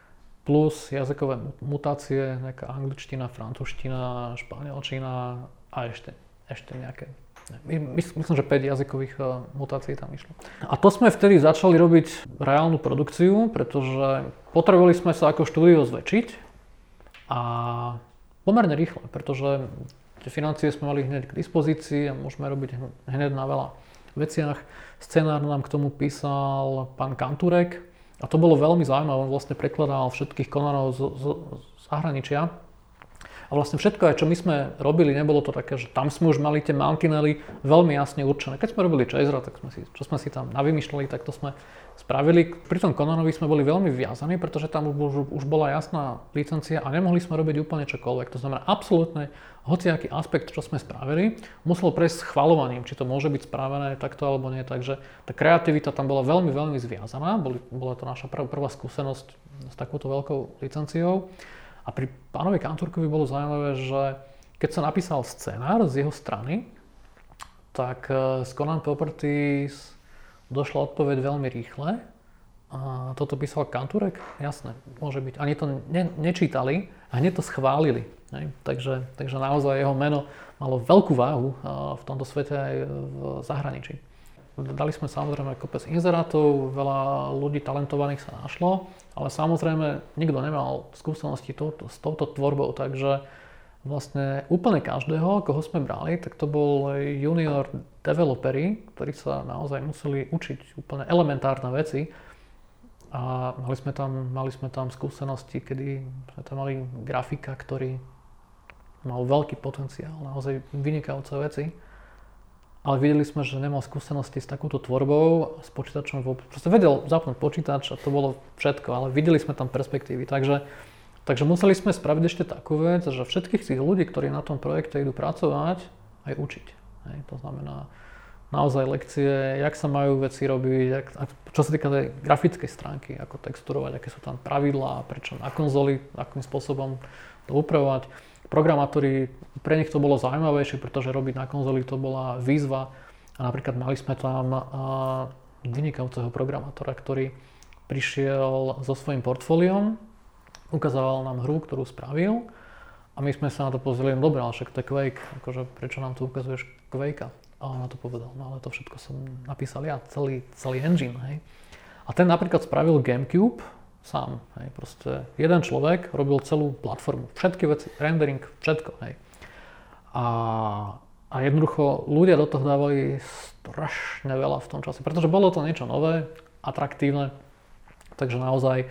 Plus jazykové mutácie, nejaká angličtina, francúzština, španielčina a ešte, ešte nejaké. My, myslím, že päť jazykových uh, mutácií tam išlo. A to sme vtedy začali robiť reálnu produkciu, pretože potrebovali sme sa ako štúdio zväčšiť a pomerne rýchle, pretože tie financie sme mali hneď k dispozícii a môžeme robiť hneď na veľa veciach. Scenár nám k tomu písal pán Kanturek a to bolo veľmi zaujímavé, on vlastne prekladal všetkých Conanov z, z, z zahraničia. A vlastne všetko, aj čo my sme robili, nebolo to také, že tam sme už mali tie mantinely veľmi jasne určené. Keď sme robili Chasera, tak sme si, čo sme si tam navymýšľali, tak to sme spravili. Pri tom Conanovi sme boli veľmi viazaní, pretože tam už, už bola jasná licencia a nemohli sme robiť úplne čokoľvek. To znamená absolútne hociaký aspekt, čo sme spravili, musel prejsť schvaľovaním, či to môže byť spravené takto alebo nie. Takže tá kreativita tam bola veľmi, veľmi zviazaná. Boli, bola to naša prv, prvá skúsenosť s takouto veľkou licenciou. A pri pánovi Kanturkovi bolo zaujímavé, že keď sa napísal scenár z jeho strany, tak z Conan Properties došla odpoveď veľmi rýchle. A toto písal Kanturek? Jasné, môže byť. Ani to ne, nečítali a hneď to schválili. Ne? Takže, takže naozaj jeho meno malo veľkú váhu v tomto svete aj v zahraničí. Dali sme samozrejme kopec inzerátov, veľa ľudí talentovaných sa našlo, ale samozrejme nikto nemal skúsenosti to, to, s touto tvorbou, takže vlastne úplne každého, koho sme brali, tak to bol junior developeri, ktorí sa naozaj museli učiť úplne elementárne veci a mali sme tam, mali sme tam skúsenosti, kedy sme tam mali grafika, ktorý mal veľký potenciál, naozaj vynikajúce veci. Ale videli sme, že nemal skúsenosti s takouto tvorbou, s počítačom vôbec. Proste vedel zapnúť počítač a to bolo všetko, ale videli sme tam perspektívy. Takže, takže museli sme spraviť ešte takú vec, že všetkých tých ľudí, ktorí na tom projekte idú pracovať, aj učiť. Hej, to znamená naozaj lekcie, jak sa majú veci robiť, jak, čo sa týka tej grafickej stránky, ako texturovať, aké sú tam pravidlá, prečo na konzoli, akým spôsobom to upravovať. Programátori, pre nich to bolo zaujímavejšie, pretože robiť na konzoli to bola výzva a napríklad mali sme tam vynikajúceho programátora, ktorý prišiel so svojím portfóliom, ukázal nám hru, ktorú spravil a my sme sa na to pozreli, no dobré, ale však to je Quake, akože prečo nám tu ukazuješ Quakea? A on na to povedal, no ale to všetko som napísal ja, celý, celý engine, hej. A ten napríklad spravil GameCube sám, hej, proste jeden človek robil celú platformu, všetky veci, rendering, všetko, hej. A, a jednoducho ľudia do toho dávali strašne veľa v tom čase, pretože bolo to niečo nové, atraktívne, takže naozaj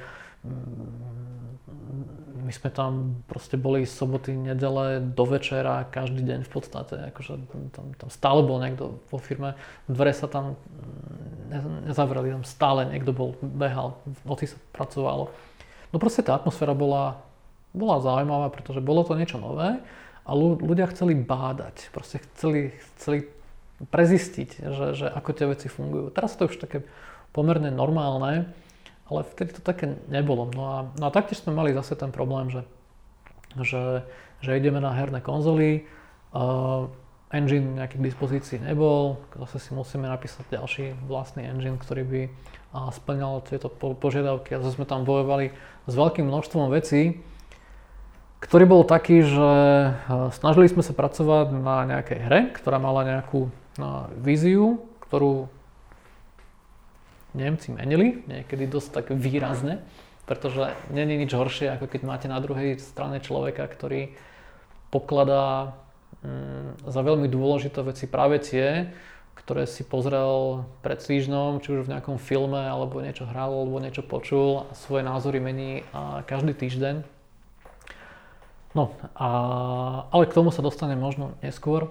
my sme tam proste boli soboty, nedele do večera, každý deň v podstate, akože tam, tam stále bol niekto vo firme, dvere sa tam nezavreli, tam stále niekto bol, behal, v noci sa pracovalo. No proste tá atmosféra bola, bola zaujímavá, pretože bolo to niečo nové a ľudia chceli bádať, proste chceli, chceli prezistiť, že, že ako tie veci fungujú. Teraz to už také pomerne normálne, ale vtedy to také nebolo. No a, no a taktiež sme mali zase ten problém, že, že, že ideme na herné konzoly, uh, engine nejaký k dispozícii nebol, zase si musíme napísať ďalší vlastný engine, ktorý by uh, splňal tieto po, požiadavky a zase sme tam bojovali s veľkým množstvom vecí, ktorý bol taký, že uh, snažili sme sa pracovať na nejakej hre, ktorá mala nejakú uh, víziu, ktorú Nemci menili, niekedy dosť tak výrazne, pretože nie je nič horšie, ako keď máte na druhej strane človeka, ktorý pokladá mm, za veľmi dôležité veci práve tie, ktoré si pozrel pred týždňom, či už v nejakom filme, alebo niečo hral, alebo niečo počul a svoje názory mení a každý týždeň. No, a, ale k tomu sa dostane možno neskôr.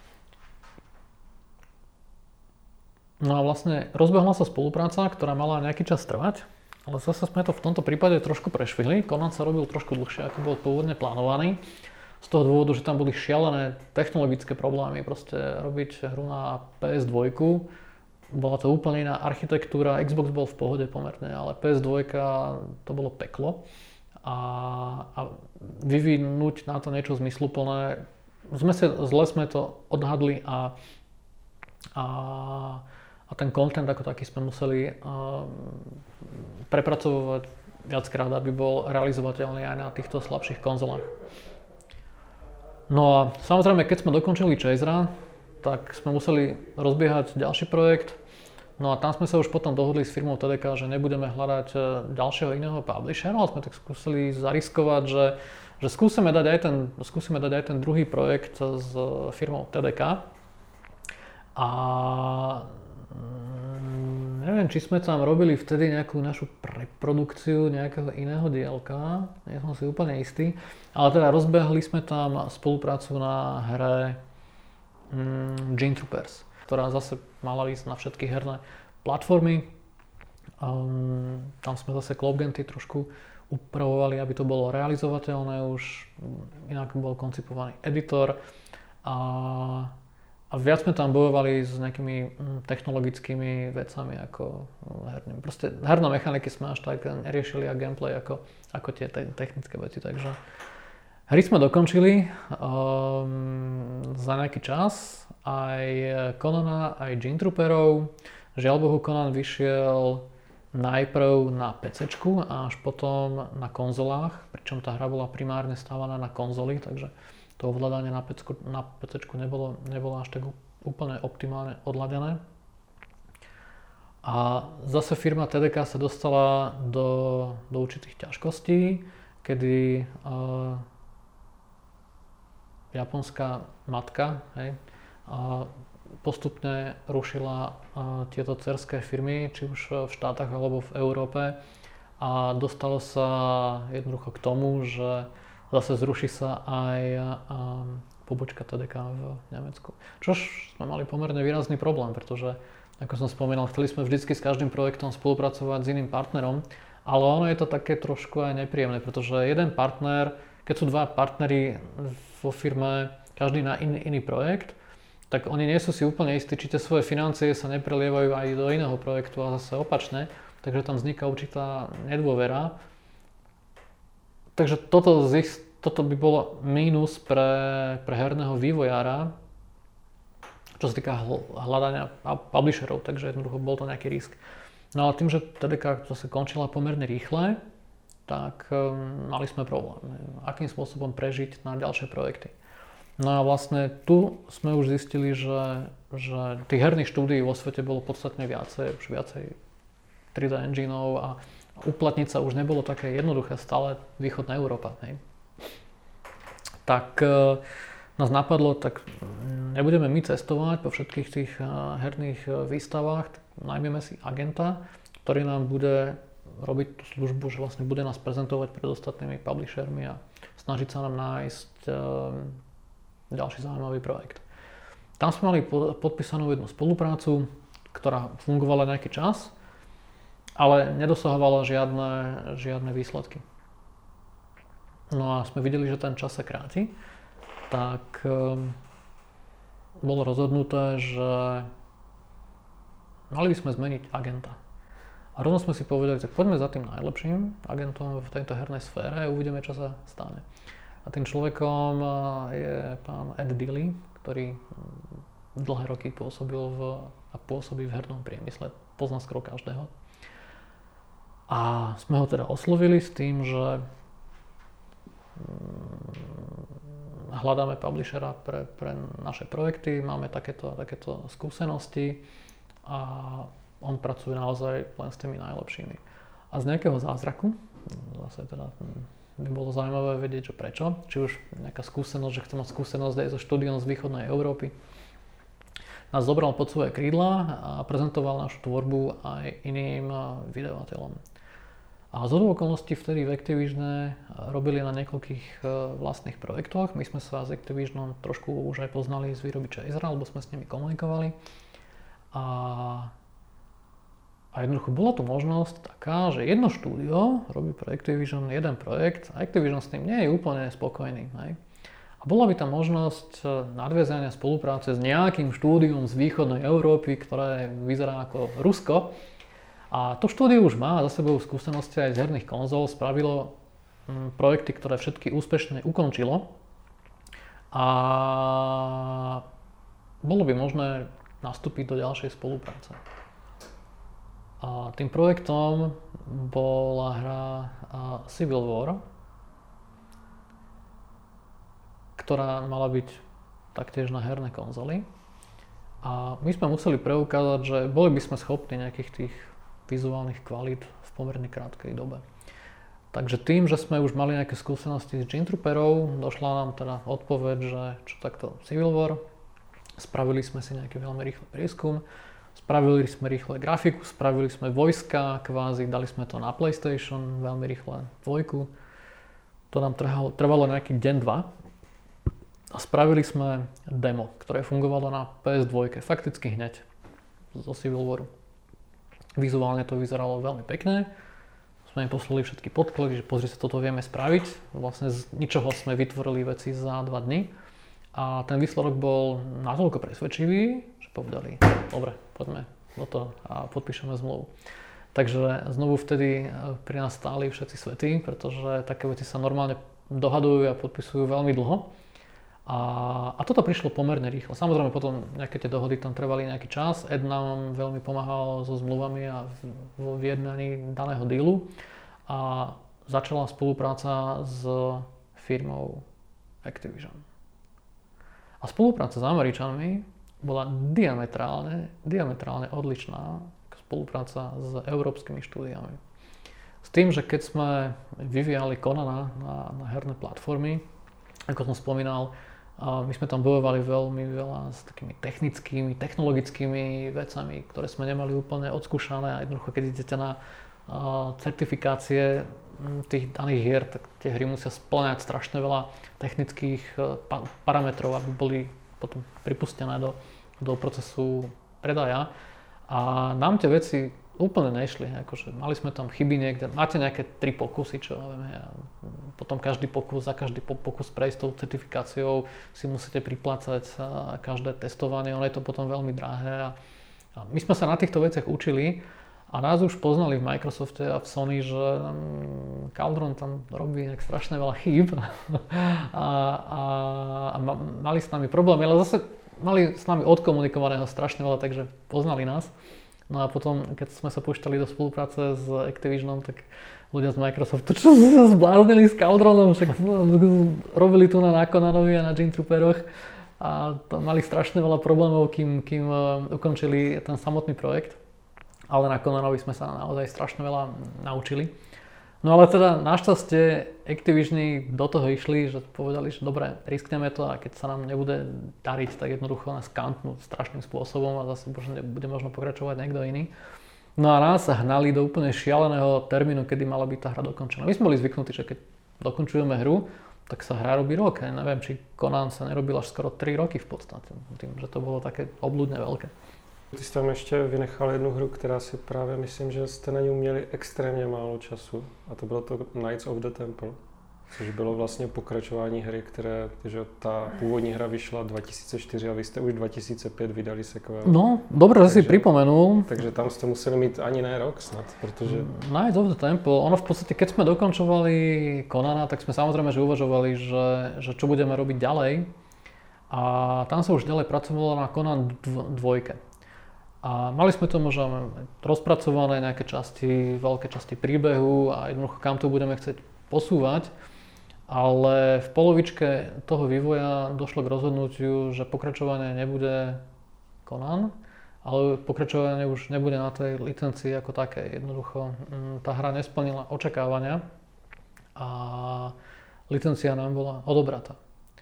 No a vlastne rozbehla sa spolupráca, ktorá mala nejaký čas trvať, ale zase sme to v tomto prípade trošku prešvihli. Conan sa robil trošku dlhšie, ako bol pôvodne plánovaný. Z toho dôvodu, že tam boli šialené technologické problémy. Proste robiť hru na pé es dva, bola to úplne iná architektúra, Xbox bol v pohode pomerne, ale pé es dva to bolo peklo. A, a vyvinúť na to niečo zmysluplné, sme sa, zle sme to odhadli a, a A ten content ako taký sme museli uh, prepracovať viackrát, aby bol realizovateľný aj na týchto slabších konzolách. No a samozrejme, keď sme dokončili Chasera, tak sme museli rozbiehať ďalší projekt. No a tam sme sa už potom dohodli s firmou té dé ká, že nebudeme hľadať ďalšieho iného publishera, ale sme tak skúsili zariskovať, že, že skúsime, dať aj ten, skúsime dať aj ten druhý projekt s firmou té dé ká. A neviem, či sme tam robili vtedy nejakú našu preprodukciu nejakého iného dielka, nie som si úplne istý, ale teda rozbehli sme tam spoluprácu na hre mm, Gene Troopers, ktorá zase mala ísť na všetky herné platformy. Um, tam sme zase Cloudgenty trošku upravovali, aby to bolo realizovateľné, už inak bol koncipovaný editor a, a viac sme tam bojovali s nejakými technologickými vecami ako herným. Proste herné mechaniky sme až tak neriešili a gameplay ako, ako tie te- technické veci, takže hry sme dokončili um, za nejaký čas, aj Conana, aj Gene Trooperov. Žiaľ Bohu, Conan vyšiel najprv na PCčku a až potom na konzolách, pričom tá hra bola primárne stávaná na konzoli, takže to ovládanie na PCčku, na PCčku nebolo, nebolo až tak úplne optimálne odladené. A zase firma té dé ká sa dostala do, do určitých ťažkostí, kedy uh, japonská matka, hej, uh, postupne rušila uh, tieto dcérské firmy, či už v štátach alebo v Európe, a dostalo sa jednoducho k tomu, že zase zruší sa aj um, pobočka té dé ká v Nemecku. Čož sme mali pomerne výrazný problém, pretože, ako som spomínal, chceli sme vždycky s každým projektom spolupracovať s iným partnerom, ale ono je to také trošku aj nepríjemné, pretože jeden partner, keď sú dva partneri vo firme, každý na iný, iný projekt, tak oni nie sú si úplne istí, či tie svoje financie sa neprelievajú aj do iného projektu a zase opačne, takže tam vzniká určitá nedôvera. Takže toto, toto by bolo mínus pre, pre herného vývojára, čo sa týka hľadania publisherov, takže jednoducho bol to nejaký risk. No ale tým, že té dé ká zase končila pomerne rýchle, tak um, mali sme problém, akým spôsobom prežiť na ďalšie projekty. No a vlastne tu sme už zistili, že, že tých herných štúdií vo svete bolo podstatne viacej, už viacej tri dé engineov a uplatniť sa už nebolo také jednoduché, stále východná Európa. Hej. Tak e, nás napadlo, tak nebudeme my cestovať po všetkých tých herných výstavách, najmeme si agenta, ktorý nám bude robiť tú službu, že vlastne bude nás prezentovať pred ostatnými publishermi a snažiť sa nám nájsť e, ďalší zaujímavý projekt. Tam sme mali podpísanú jednu spoluprácu, ktorá fungovala nejaký čas, ale nedosahovala žiadne, žiadne výsledky. No a sme videli, že ten čas sa kráti, tak um, bolo rozhodnuté, že mali by sme zmeniť agenta. A rovno sme si povedali, že poďme za tým najlepším agentom v tejto hernej sfére a uvidíme, čo sa stane. A tým človekom je pán Ed Dilly, ktorý dlhé roky pôsobil v, a pôsobí v hernom priemysle, pozná skoro každého. A sme ho teda oslovili s tým, že hľadáme publishera pre, pre naše projekty, máme takéto, takéto skúsenosti a on pracuje naozaj len s tými najlepšími. A z nejakého zázraku, zase teda by bolo zaujímavé vedieť, že prečo, či už nejaká skúsenosť, že chce mať skúsenosť aj so štúdiom z východnej Európy, nás zobral pod svoje krídla a prezentoval našu tvorbu aj iným vydavateľom. A z okolností vtedy v Activisione robili na niekoľkých vlastných projektoch. My sme sa s Activisionom trošku už aj poznali z výroby Chasera, lebo sme s nimi komunikovali. A A jednoducho bola tu možnosť taká, že jedno štúdio robí pre Activision jeden projekt a Activision s tým nie je úplne spokojný. Hej. A bola by tam možnosť nadviazania spolupráce s nejakým štúdiom z východnej Európy, ktoré vyzerá ako Rusko. A to štúdio už má za sebou skúsenosti aj z herných konzol, spravilo hm, projekty, ktoré všetky úspešne ukončilo. A bolo by možné nastúpiť do ďalšej spolupráce. A tým projektom bola hra Civil War, ktorá mala byť taktiež na herné konzoly. A my sme museli preukázať, že boli by sme schopní nejakých tých vizuálnych kvalít v pomerne krátkej dobe. Takže tým, že sme už mali nejaké skúsenosti s Gene Trooperov, došla nám teda odpoveď, že čo takto Civil War, spravili sme si nejaký veľmi rýchly prieskum, spravili sme rýchle grafiku, spravili sme vojska, kvázi, dali sme to na PlayStation, veľmi rýchle dvojku. To nám trvalo, trvalo nejaký deň, dva. A spravili sme demo, ktoré fungovalo na pé es dva, fakticky hneď zo Civil Waru. Vizuálne to vyzeralo veľmi pekné. Sme im poslali všetky podklady, že pozri sa, toto vieme spraviť. Vlastne z ničoho sme vytvorili veci za dva dni. A ten výsledok bol natoľko presvedčivý, že povedali, dobre, poďme do toho a podpíšeme zmluvu. Takže znovu vtedy pri nás stáli všetci svety, pretože také veci sa normálne dohadujú a podpisujú veľmi dlho. A, a toto prišlo pomerne rýchlo. Samozrejme potom nejaké tie dohody tam trvali nejaký čas. Ed nám veľmi pomáhal so zmluvami a vo vyjednaní daného dealu. A začala spolupráca s firmou Activision. A spolupráca s Američanmi bola diametrálne, diametrálne odlišná ako spolupráca s európskymi štúdiami. S tým, že keď sme vyvíjali Conana na, na herné platformy, ako som spomínal, a my sme tam bojovali veľmi veľa s takými technickými, technologickými vecami, ktoré sme nemali úplne odskúšané a jednoducho, keď idete na uh, certifikácie tých daných hier, tak tie hry musia spĺňať strašne veľa technických uh, pa- parametrov, aby boli potom pripustené do, do procesu predaja. A nám tie veci úplne nešli, akože mali sme tam chyby niekde, máte nejaké tri pokusy, čo neviem, ja, potom každý pokus, za každý pokus prejsť tou certifikáciou si musíte priplácať každé testovanie, ono je to potom veľmi drahé a, a my sme sa na týchto veciach učili a nás už poznali v Microsofte a v Sony, že um, Cauldron tam robí nejak strašne veľa chýb a, a, a mali s nami problémy, ale zase mali s nami odkomunikovaného strašne veľa, takže poznali nás. No a potom, keď sme sa púšťali do spolupráce s Activisionom, tak ľudia z Microsoftu, čo sa zbláznili s Cauldronom, však robili tu na Conanovi a na Gene Trooperoch a mali strašne veľa problémov, kým, kým ukončili ten samotný projekt. Ale na Conanovi sme sa naozaj strašne veľa naučili. No ale teda našťastie Activisioni do toho išli, že povedali, že dobre, riskneme to a keď sa nám nebude dariť, tak jednoducho nás kantnú strašným spôsobom a zase bude možno pokračovať niekto iný. No a nás sa hnali do úplne šialeného termínu, kedy mala byť tá hra dokončená. My sme boli zvyknutí, že keď dokončujeme hru, tak sa hra robí rok. Ja neviem, či Conan sa nerobil až skoro tri roky v podstate, tým, že to bolo také obľudne veľké. Ty jsi tam ještě vynechal jednu hru, která si právě myslím, že jste na ní měli extrémně málo času a to bylo to Knights of the Temple, což bylo vlastně pokračování hry, které, že ta původní hra vyšla dva tisíce čtyři a vy jste už dva tisíce pět vydali sequel. No, dobre, že si pripomenul. Takže tam ste museli mít ani ne rok snad, protože... Knights of the Temple, ono v podstate, keď sme dokončovali Conana, tak sme samozrejme, že uvažovali, že, že čo budeme robiť ďalej. A tam sa už ďalej pracovalo na Conan dvojke. A mali sme to možno rozpracované nejaké časti, veľké časti príbehu a jednoducho kam to budeme chcieť posúvať. Ale v polovičke toho vývoja došlo k rozhodnutiu, že pokračovanie nebude Conan, ale pokračovanie už nebude na tej licencii ako také. Jednoducho tá hra nesplnila očakávania a licencia nám bola odobratá.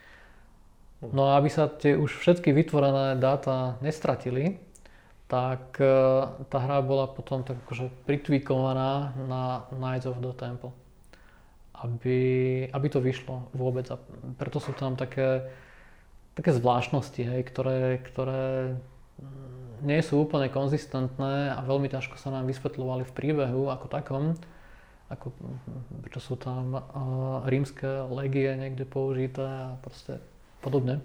No a aby sa tie už všetky vytvorené dáta nestratili, tak tá hra bola potom tak akože pritvíkovaná na Knights of the Temple, aby, aby to vyšlo vôbec. A preto sú tam také, také zvláštnosti, hej, ktoré, ktoré nie sú úplne konzistentné a veľmi ťažko sa nám vysvetľovali v príbehu ako takom. Ako, prečo sú tam uh, rímske legie niekde použité a proste podobne.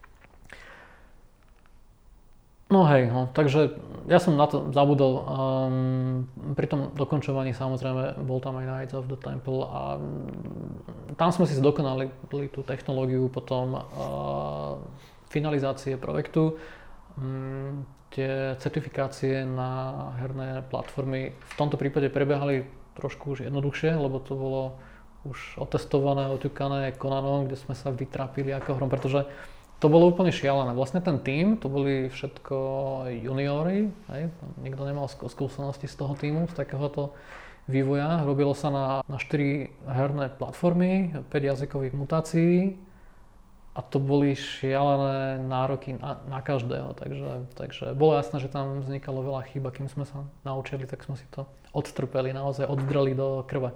No hej, no, takže ja som na to zabudol. Um, pri tom dokončovaní samozrejme bol tam aj Knights of the Temple a um, tam sme si zdokonali tú technológiu potom uh, finalizácie projektu. Um, tie certifikácie na herné platformy v tomto prípade prebiehali trošku už jednoduchšie, lebo to bolo už otestované, oťukané Conanom, kde sme sa vytrápili ako hrom, pretože to bolo úplne šialené. Vlastne ten tím, to boli všetko juniori, hej? Nikto nemal skúsenosti z toho tímu, z takéhoto vývoja. Robilo sa na, na štyri herné platformy, päť jazykových mutácií a to boli šialené nároky na, na každého. Takže, takže bolo jasné, že tam vznikalo veľa chýb a kým sme sa naučili, tak sme si to odtrpeli, naozaj oddreli do krve.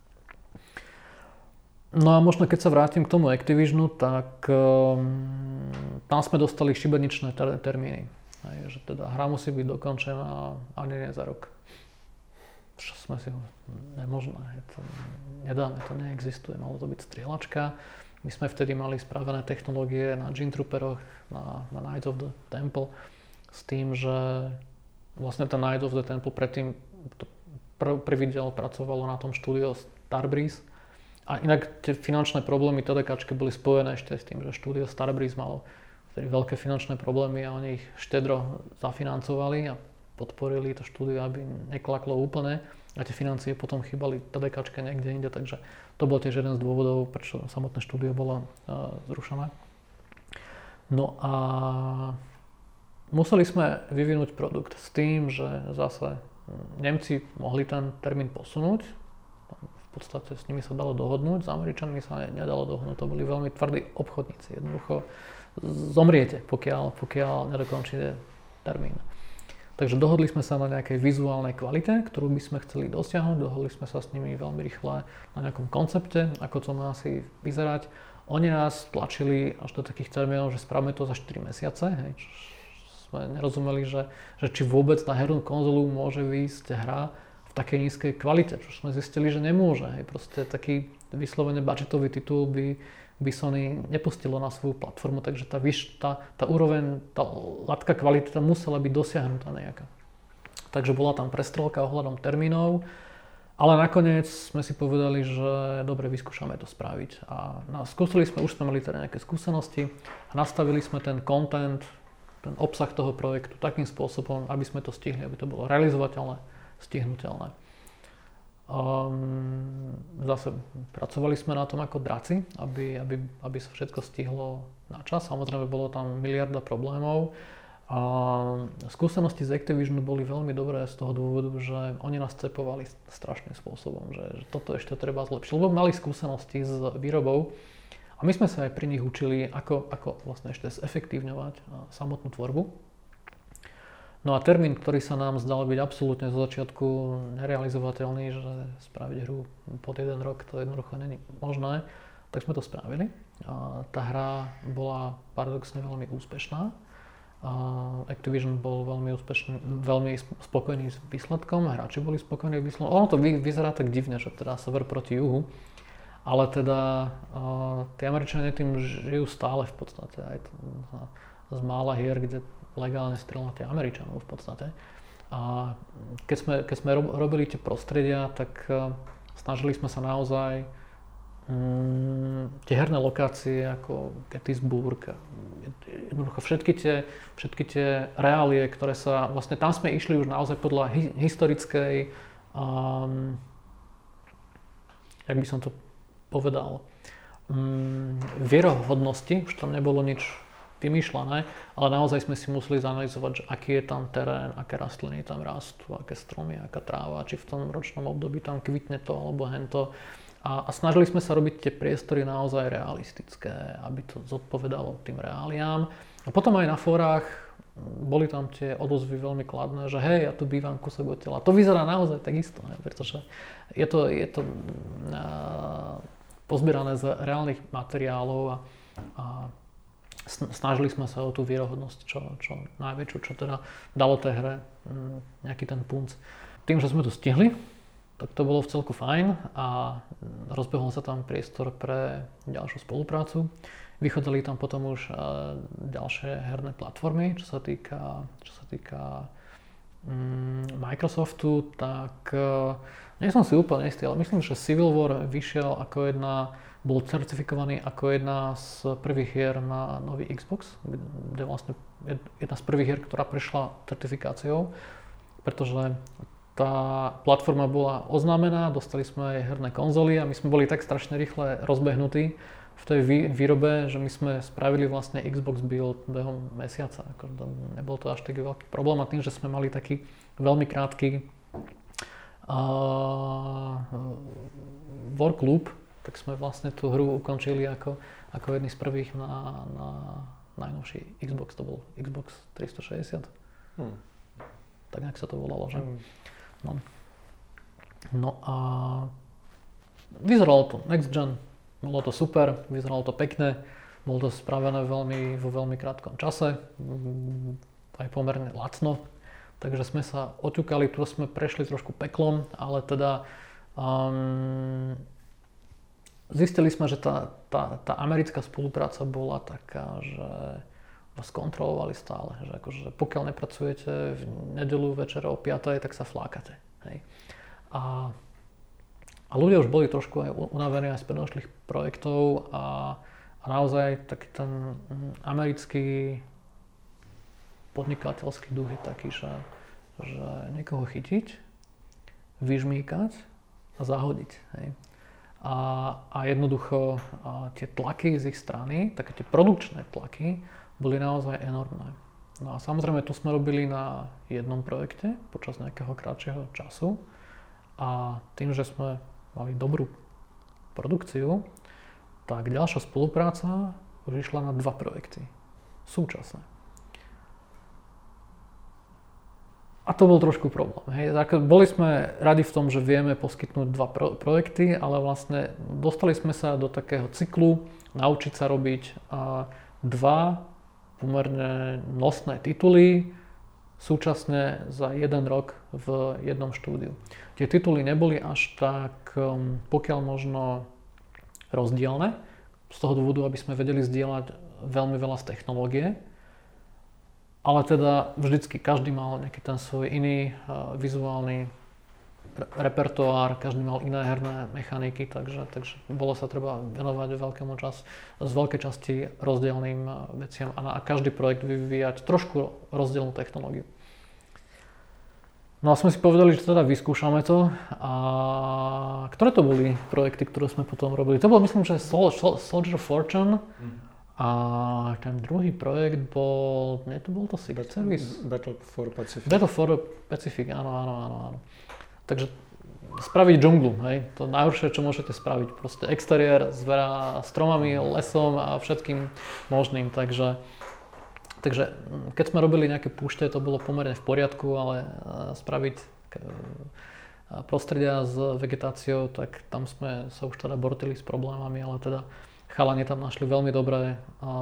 No a možno keď sa vrátim k tomu Activisionu, tak um, tam sme dostali šibeničné ter- termíny. Aj, že teda hra musí byť dokončená ani nie za rok. Čo sme si ho... Nemožné, to nedáme, to neexistuje, malo to byť strieľačka. My sme vtedy mali spravené technológie na Gene Trooperoch, na, na Knights of the Temple, s tým, že vlastne ten Knights of the Temple predtým pr- prvý diel pracovalo na tom štúdio Starbreeze. A inak tie finančné problémy TDKčky boli spojené ešte s tým, že štúdio Starbreeze malo vtedy veľké finančné problémy a oni ich štedro zafinancovali a podporili to štúdio, aby neklaklo úplne a tie financie potom chýbali TDKčke niekde inde, takže to bol tiež jeden z dôvodov, prečo samotné štúdio bolo uh, zrušené. No a museli sme vyvinúť produkt s tým, že zase Nemci mohli ten termín posunúť. V podstate s nimi sa dalo dohodnúť, s Američanmi sa nedalo dohodnúť, to boli veľmi tvrdí obchodníci. Jednoducho zomriete, pokiaľ, pokiaľ nedokončíte termín. Takže dohodli sme sa na nejakej vizuálnej kvalite, ktorú by sme chceli dosiahnuť, dohodli sme sa s nimi veľmi rýchle na nejakom koncepte, ako to má asi vyzerať. Oni nás tlačili až do takých termínov, že spravíme to za štyri mesiace, hej, čo sme nerozumeli, že, že či vôbec na hernú konzolu môže výjsť hra takej nízkej kvalite, čo sme zistili, že nemôže. Hej. Proste taký vyslovene budgetový titul by, by Sony nepustilo na svoju platformu, takže tá, vyš, tá, tá úroveň, tá latka kvality tam musela byť dosiahnutá nejaká. Takže bola tam prestrelka ohľadom termínov, ale nakoniec sme si povedali, že dobre, vyskúšame to spraviť. A na, skúsili sme, už sme mali teda nejaké skúsenosti a nastavili sme ten content, ten obsah toho projektu takým spôsobom, aby sme to stihli, aby to bolo realizovateľné, stihnuteľné. Um, zase pracovali sme na tom ako draci, aby, aby, aby sa všetko stihlo na čas. Samozrejme bolo tam miliarda problémov. A skúsenosti z Activisionu boli veľmi dobré z toho dôvodu, že oni nás cepovali strašným spôsobom, že, že toto ešte treba zlepšiť. Lebo mali skúsenosti s výrobou a my sme sa aj pri nich učili, ako, ako vlastne ešte zefektívňovať samotnú tvorbu. No a termín, ktorý sa nám zdal byť absolútne zo začiatku nerealizovateľný, že spraviť hru pod jeden rok, to jednoducho není možné, tak sme to spravili. A tá hra bola paradoxne veľmi úspešná. A Activision bol veľmi úspešný, veľmi spokojný s výsledkom, hráči boli spokojní s výsledkom. Ono to vy, vyzerá tak divne, že teda sever proti juhu, ale teda uh, tí Američania tým žijú stále v podstate. Aj to, z mála hier, kde legálne strieľate Američanov v podstate. A keď sme, keď sme robili tie prostredia, tak uh, snažili sme sa naozaj um, tie herné lokácie ako Gettysburg, jednoducho všetky tie, všetky tie reálie, ktoré sa, vlastne tam sme išli už naozaj podľa hi, historickej, um, jak by som to povedal, um, vierohodnosti, už tam nebolo nič vymýšľané, ale naozaj sme si museli zanalyzovať, že aký je tam terén, aké rastliny tam rastú, aké stromy, aká tráva, či v tom ročnom období tam kvitne to alebo hento. A, a snažili sme sa robiť tie priestory naozaj realistické, aby to zodpovedalo tým reáliám. A potom aj na fórach boli tam tie odozvy veľmi kladné, že hej, ja tu bývam kúsok od tela. To vyzerá naozaj takisto, ne? Pretože je to, je to uh, pozbierané z reálnych materiálov a, a snažili sme sa o tú vierohodnosť čo, čo najväčšiu, čo teda dalo tej hre nejaký ten punc. Tým, že sme to stihli, tak to bolo v celku fajn a rozbehol sa tam priestor pre ďalšiu spoluprácu. Vychodili tam potom už ďalšie herné platformy, čo sa týka, čo sa týka um, Microsoftu, tak nie som si úplne istý, ale myslím, že Civil War vyšiel ako jedna bol certifikovaný ako jedna z prvých hier na nový Xbox, kde vlastne jedna z prvých hier, ktorá prešla certifikáciou, pretože tá platforma bola oznámená, dostali sme aj herné konzoly a my sme boli tak strašne rýchle rozbehnutí v tej výrobe, že my sme spravili vlastne Xbox build behom mesiaca. Ako, nebol to až taký veľký problém a tým, že sme mali taký veľmi krátky uh, work loop, tak sme vlastne tú hru ukončili ako, ako jedný z prvých na, na najnovší Xbox, to bol Xbox tristošesťdesiat. Hmm. Tak nejak sa to volalo, že? Hmm. No. no a vyzeralo to next gen, bolo to super, vyzeralo to pekne, bolo to spravené veľmi, vo veľmi krátkom čase, aj pomerne lacno, takže sme sa oťukali, tu sme prešli trošku peklom, ale teda um, zistili sme, že tá, tá, tá americká spolupráca bola taká, že vás kontrolovali stále, že akože pokiaľ nepracujete v nedeľu večer o piatej, tak sa flákate. Hej. A, a ľudia už boli trošku aj unavení aj z predošlých projektov a, a naozaj taký ten americký podnikateľský duch je taký, že, že niekoho chytiť, vyžmýkať a zahodiť. Hej. A, a jednoducho a tie tlaky z ich strany, také tie produkčné tlaky, boli naozaj enormné. No a samozrejme tu sme robili na jednom projekte počas nejakého krátšieho času a tým, že sme mali dobrú produkciu, tak ďalšia spolupráca už išla na dva projekty súčasne. A to bol trošku problém. Hej. Boli sme radi v tom, že vieme poskytnúť dva pro- projekty, ale vlastne dostali sme sa do takého cyklu naučiť sa robiť a, dva pomerne nosné tituly súčasne za jeden rok v jednom štúdiu. Tie tituly neboli až tak um, pokiaľ možno rozdielne, z toho dôvodu, aby sme vedeli zdieľať veľmi veľa z technológie, ale teda vždycky každý mal nejaký ten svoj iný uh, vizuálny repertoár, každý mal iné herné mechaniky, takže, takže bolo sa treba venovať veľkému čas, z veľkej časti rozdielným veciam a na každý projekt vyvíjať trošku rozdielnú technológiu. No a sme si povedali, že teda vyskúšame to a ktoré to boli projekty, ktoré sme potom robili? To bol myslím, že Sol, Sol, Soldier of Fortune a ten druhý projekt bol, nie to bol to Secret Service? Battle for Pacific. Battle for Pacific, áno, áno, áno, áno. Takže spraviť džunglu, hej, to najhoršie, čo môžete spraviť, proste exteriér s veľa stromami, lesom a všetkým možným, takže, takže keď sme robili nejaké púšte, to bolo pomerne v poriadku, ale spraviť prostredia s vegetáciou, tak tam sme sa už teda bortili s problémami, ale teda chalani tam našli veľmi dobré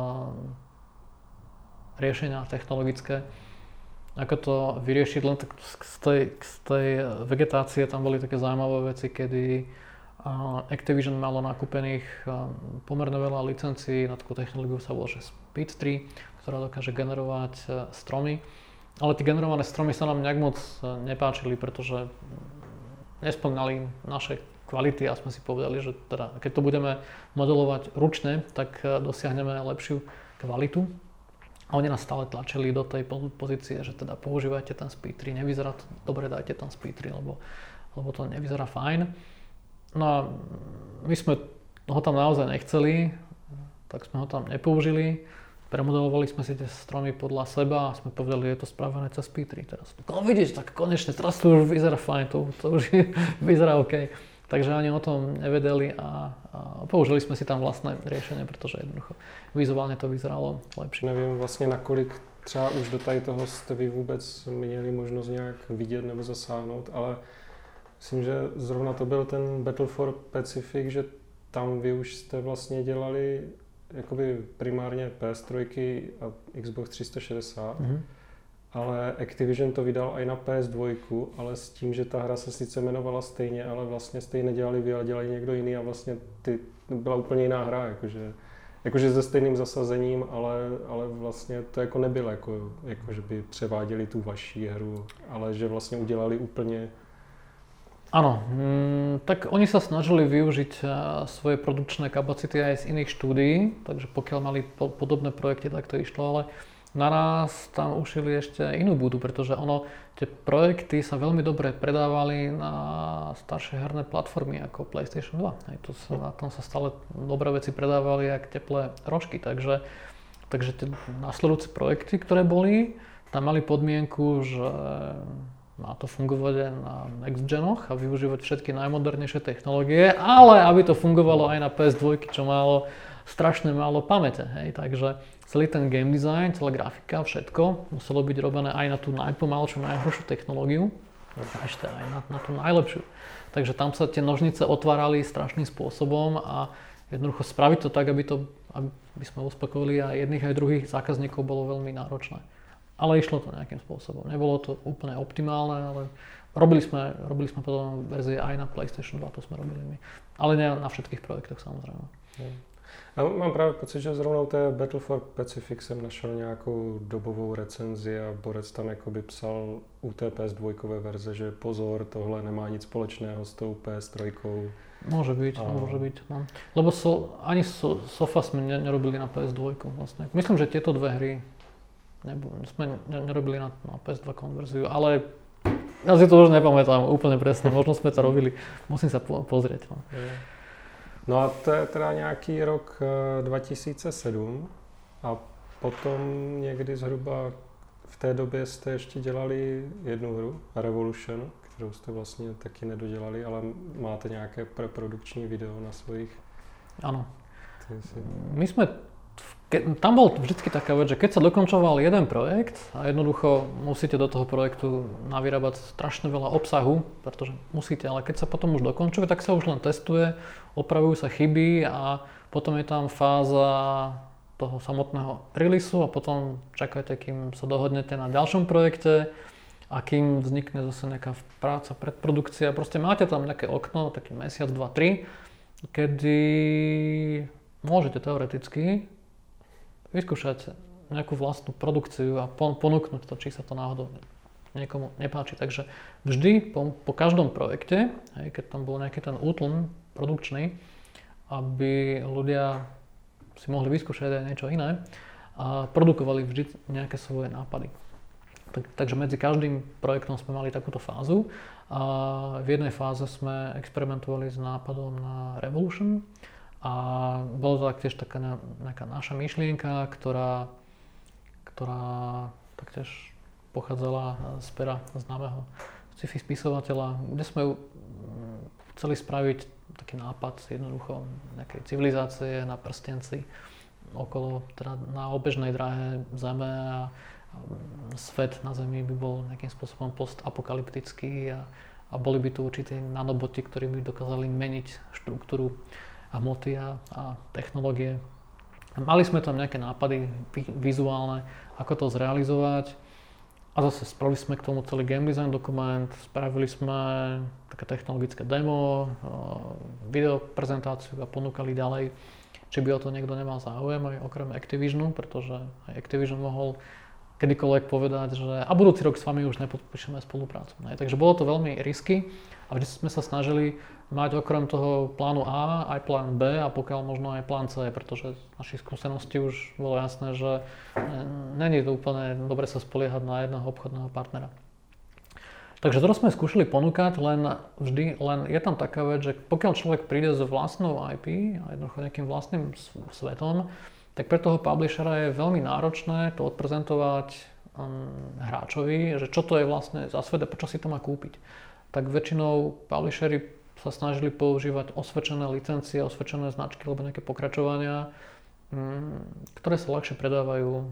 riešenia technologické. Ako to vyriešiť, len tak z tej, z tej vegetácie tam boli také zaujímavé veci, kedy Activision malo nakúpených pomerne veľa licencií na takú technológiu sa volá, že Speed tri, ktorá dokáže generovať stromy. Ale tie generované stromy sa nám nejak moc nepáčili, pretože nespĺňali naše kvality a sme si povedali, že teda, keď to budeme modelovať ručne, tak dosiahneme lepšiu kvalitu. A oni nás stále tlačili do tej pozície, že teda používajte ten Speed tri, nevyzerá to dobre, dajte ten Speed tri, lebo, lebo to nevyzerá fajn. No a my sme ho tam naozaj nechceli, tak sme ho tam nepoužili. Premodelovali sme si tie stromy podľa seba a sme povedali, že je to spravené cez Speed tri teraz. No vidíš, tak konečne, teraz to už vyzerá fajn, to, to už vyzerá OK. Takže ani o tom nevedeli a, a použili sme si tam vlastné riešenie, pretože jednoducho vizuálně to vyzeralo lepší. Nevím vlastně, nakolik třeba už do tady toho jste vy vůbec měli možnost nějak vidět nebo zasáhnout, ale myslím, že zrovna to byl ten Battle for Pacific, že tam vy už jste vlastně dělali jakoby primárně P S tři a Xbox tři sta šedesát. Mm-hmm. Ale Activision to vydal i na P S dva, ale s tím, že ta hra se sice jmenovala stejně, ale vlastně stejně nedělali vy, ale dělali někdo jiný a vlastně ty, byla úplně jiná hra, jakože, jakože se stejným zasazením, ale, ale vlastně to jako nebylo, jako, jako že by převáděli tu vaši hru, ale že vlastně udělali úplně... Áno, mm, tak oni sa snažili využiť svoje produkčné kapacity aj z iných štúdií, takže pokiaľ mali po, podobné projekty, tak to išlo, ale naraz tam ušili ešte inú budu, pretože ono, tie projekty sa veľmi dobre predávali na staršie herné platformy ako PlayStation dva. Hej, to sa, na tom sa stále dobré veci predávali jak teplé rožky, takže, takže tie nasledujúce projekty, ktoré boli, tam mali podmienku, že má to fungovať aj na next genoch a využívať všetky najmodernejšie technológie, ale aby to fungovalo aj na pé es dva, čo malo strašne málo pamäte, hej, takže celý ten game design, celá grafika, všetko muselo byť robené aj na tú najpomalšiu, najhoršiu technológiu, a ešte aj na, na tú najlepšiu. Takže tam sa tie nožnice otvárali strašným spôsobom a jednoducho spraviť to tak, aby, to, aby sme uspokojili aj jedných aj druhých zákazníkov, bolo veľmi náročné. Ale išlo to nejakým spôsobom. Nebolo to úplne optimálne, ale robili sme, robili sme potom verzie aj na PlayStation dva, to sme robili my. Ale nie na všetkých projektoch samozrejme. Hmm. Já mám právě pocit, že zrovna u té Battle for Pacific jsem našel nějakou dobovou recenzi a Borec tam jakoby psal u té pé es dva verze, že pozor, tohle nemá nic společného s tou pé es tři. Môže byť, a... môže byť. No. Lebo so, ani so, Sofa sme ne, nerobili na pé es dva vlastne. Myslím, že tieto dve hry nebu, sme ne, nerobili na, na pé es dva konverziu, ale ja si to už nepamätám úplne presne, možno sme to robili, musím sa po, pozrieť. No. No a to je teda nějaký rok dva tisíce sedm a potom někdy zhruba v té době jste ještě dělali jednu hru, Revolution, kterou jste vlastně taky nedodělali, ale máte nějaké preprodukční video na svojich... Áno. Si... My sme... Ke, tam bol vždycky taká vec, že keď sa dokončoval jeden projekt a jednoducho musíte do toho projektu navyrábať strašne veľa obsahu, pretože musíte, ale keď sa potom už dokončuje, tak sa už len testuje, opravujú sa chyby a potom je tam fáza toho samotného releaseu a potom čakajte, kým sa dohodnete na ďalšom projekte a kým vznikne zase nejaká práca, predprodukcia. Proste máte tam nejaké okno, taký mesiac, dva, tri, kedy môžete teoreticky vyskúšať nejakú vlastnú produkciu a ponúknuť to, či sa to náhodou niekomu nepáči. Takže vždy po, po každom projekte, hej, keď tam bol nejaký ten útlm produkčný, aby ľudia si mohli vyskúšať aj niečo iné a produkovali vždy nejaké svoje nápady. Tak, takže medzi každým projektom sme mali takúto fázu a v jednej fáze sme experimentovali s nápadom na Revolution. A bolo to taktiež taká nejaká naša myšlienka, ktorá, ktorá taktiež pochádzala z pera známeho sci-fi spisovateľa, kde sme chceli spraviť taký nápad jednoducho nejakej civilizácie na prstenci okolo, teda na obežnej dráhe Zeme a svet na Zemi by bol nejakým spôsobom postapokalyptický a, a boli by tu určité nanoboti, ktorí by dokázali meniť štruktúru hmoty a, a technológie. Mali sme tam nejaké nápady vizuálne, ako to zrealizovať a zase spravili sme k tomu celý game design dokument, spravili sme také technologické demo, video prezentáciu a ponúkali ďalej, či by o to niekto nemal záujem aj okrem Activisionu, pretože aj Activision mohol kedykoľvek povedať, že a budúci rok s vami už nepodpíšeme spoluprácu. Ne? Takže bolo to veľmi risky a vždy sme sa snažili mať okrem toho plánu A aj plán B a pokiaľ možno aj plán C, pretože z našich skúseností už bolo jasné, že není to úplne dobre sa spoliehať na jedného obchodného partnera. Takže to sme skúšali ponúkať, len vždy, len je tam taká vec, že pokiaľ človek príde s vlastnou í pé a jednoducho nejakým vlastným svetom, tak pre toho publishera je veľmi náročné to odprezentovať um, hráčovi, že čo to je vlastne za svet a prečo si to má kúpiť. Tak väčšinou publisheri sa snažili používať osvedčené licencie, osvedčené značky alebo nejaké pokračovania, um, ktoré sa ľahšie predávajú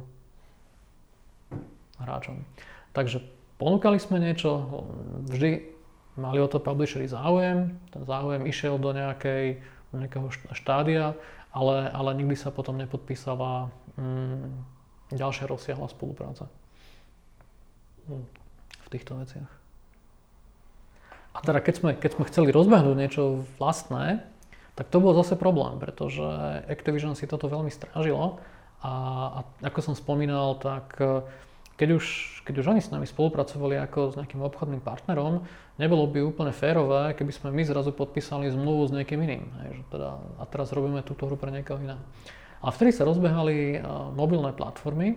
hráčom. Takže ponúkali sme niečo, vždy mali o to publisheri záujem, ten záujem išiel do nejakej, nejakého štádia, Ale, ale nikdy sa potom nepodpísala mm, ďalšia rozsiahla spolupráca v týchto veciach. A teda keď sme, keď sme chceli rozbehnúť niečo vlastné, tak to bol zase problém, pretože Activision si toto veľmi strážilo a, a ako som spomínal, tak keď už, keď už oni s nami spolupracovali ako s nejakým obchodným partnerom, nebolo by úplne férové, keby sme my zrazu podpísali zmluvu s niekým iným. Hej, že teda, a teraz robíme túto hru pre niekoho iného. A vtedy sa rozbehali uh, mobilné platformy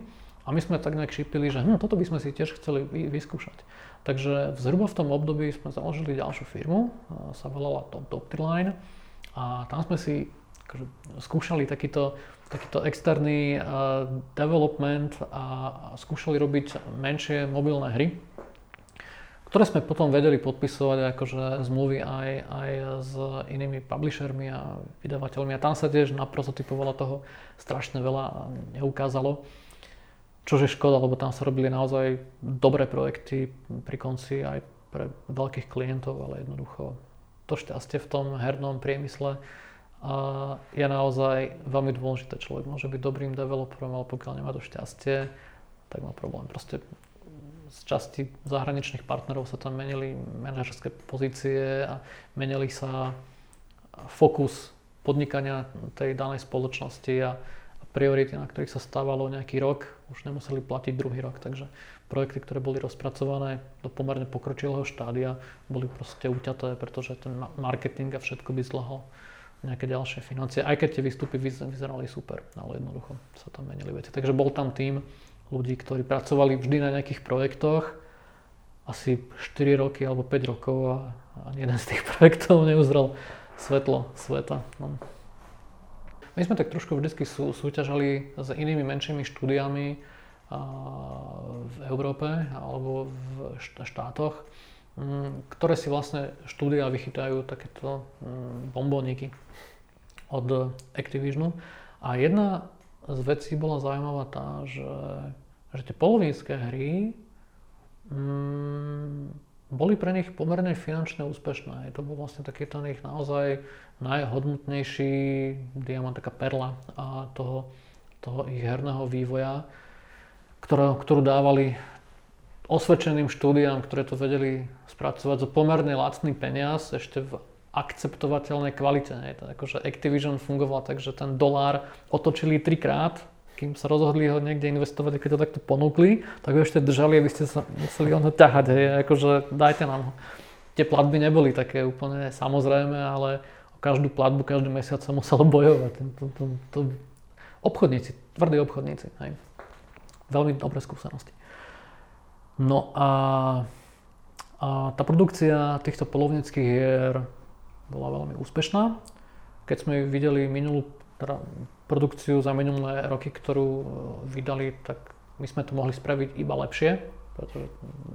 A my sme tak nejak šípili, že hm, toto by sme si tiež chceli vyskúšať. Takže zhruba v tom období sme založili ďalšiu firmu, sa volala Top Optiline a tam sme si akože, skúšali takýto, takýto externý uh, development a skúšali robiť menšie mobilné hry, ktoré sme potom vedeli podpisovať akože zmluvy aj, aj s inými publishermi a vydavateľmi a tam sa tiež na prototypovalo toho strašne veľa a neukázalo. Čož je škoda, lebo tam sa robili naozaj dobré projekty pri konci aj pre veľkých klientov, ale jednoducho to šťastie v tom hernom priemysle je naozaj veľmi dôležité. Človek môže byť dobrým developerom, ale pokiaľ nemá to šťastie, tak má problém. Proste z časti zahraničných partnerov sa tam menili manažerské pozície a menili sa fokus podnikania tej danej spoločnosti a priority, na ktorých sa stávalo nejaký rok, už nemuseli platiť druhý rok, takže projekty, ktoré boli rozpracované do pomerne pokročilého štádia, boli proste uťaté, pretože ten marketing a všetko by zdlhol nejaké ďalšie financie, aj keď tie výstupy vyzerali super, ale jednoducho sa tam menili veci. Takže bol tam tím ľudí, ktorí pracovali vždy na nejakých projektoch, asi štyri roky alebo päť rokov a ani jeden z tých projektov neuzrel svetlo sveta. No. My sme tak trošku vždycky sú, súťažali s inými menšími štúdiami a, v Európe alebo v štátoch, m, ktoré si vlastne štúdia vychytajú takéto m, bombóniky od Activisionu. A jedna z vecí bola zaujímavá tá, že, že tie polovnícke hry m, boli pre nich pomerne finančne úspešné. To bol vlastne taký ten ich naozaj najhodnotnejší diamant, taká perla a toho, toho ich herného vývoja, ktoré, ktorú dávali osvedčeným štúdiám, ktoré to vedeli spracovať za pomerne lacný peniaz, ešte v akceptovateľnej kvalite. Nie? To akože Activision fungoval tak, že ten dolár otočili trikrát, kým sa rozhodli ho niekde investovať, keď to takto ponúkli, tak ho ešte držali, aby ste sa museli ho ťahať, hej, akože dajte nám ho. Tie platby neboli také úplne samozrejme, ale o každú platbu každý mesiac sa muselo bojovať. To, to, to, obchodníci, tvrdí obchodníci, hej. Veľmi dobré skúsenosti. No a, a tá produkcia týchto polovníckych hier bola veľmi úspešná. Keď sme videli minulú teda produkciu za minulé roky, ktorú vydali, tak my sme to mohli spraviť iba lepšie, pretože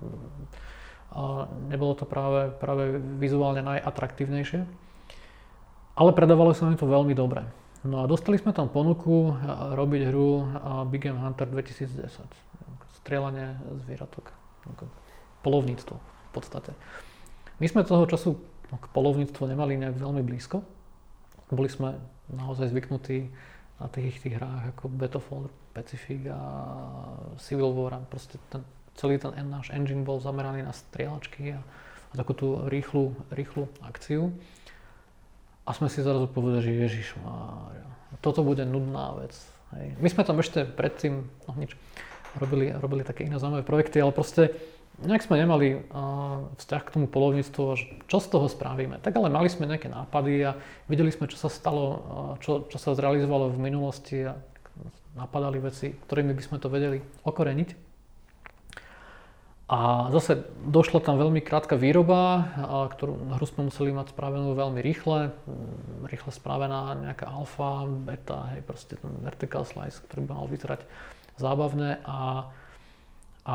a nebolo to práve, práve vizuálne najatraktívnejšie. Ale predávalo sa mi to veľmi dobre. No a dostali sme tam ponuku robiť hru Big Game Hunter dvetisícdesať. Strieľanie zvieratok. Polovníctvo v podstate. My sme toho času k polovníctvu nemali nejak veľmi blízko. Boli sme naozaj zvyknutí na tých, tých hrách ako Battlefield, Pacific a Civil War. Proste ten, celý ten náš engine bol zameraný na strieľačky a, a takú tú rýchlu, rýchlu akciu. A sme si zrazu povedali, že ježišmária, toto bude nudná vec. Hej. My sme tam ešte predtým, no nič, robili, robili také iné zaujímavé projekty, ale proste nejak sme nemali uh, vzťah k tomu polovníctvu, čo z toho spravíme. Tak ale mali sme nejaké nápady a videli sme, čo sa stalo, uh, čo, čo sa zrealizovalo v minulosti a napadali veci, ktorými by sme to vedeli okoreniť. A zase došla tam veľmi krátka výroba, ktorú hru sme museli mať spravenú veľmi rýchle. Rýchle spravená nejaká alfa, beta, hej, proste ten vertical slice, ktorý by mal vyzerať zábavne. A, a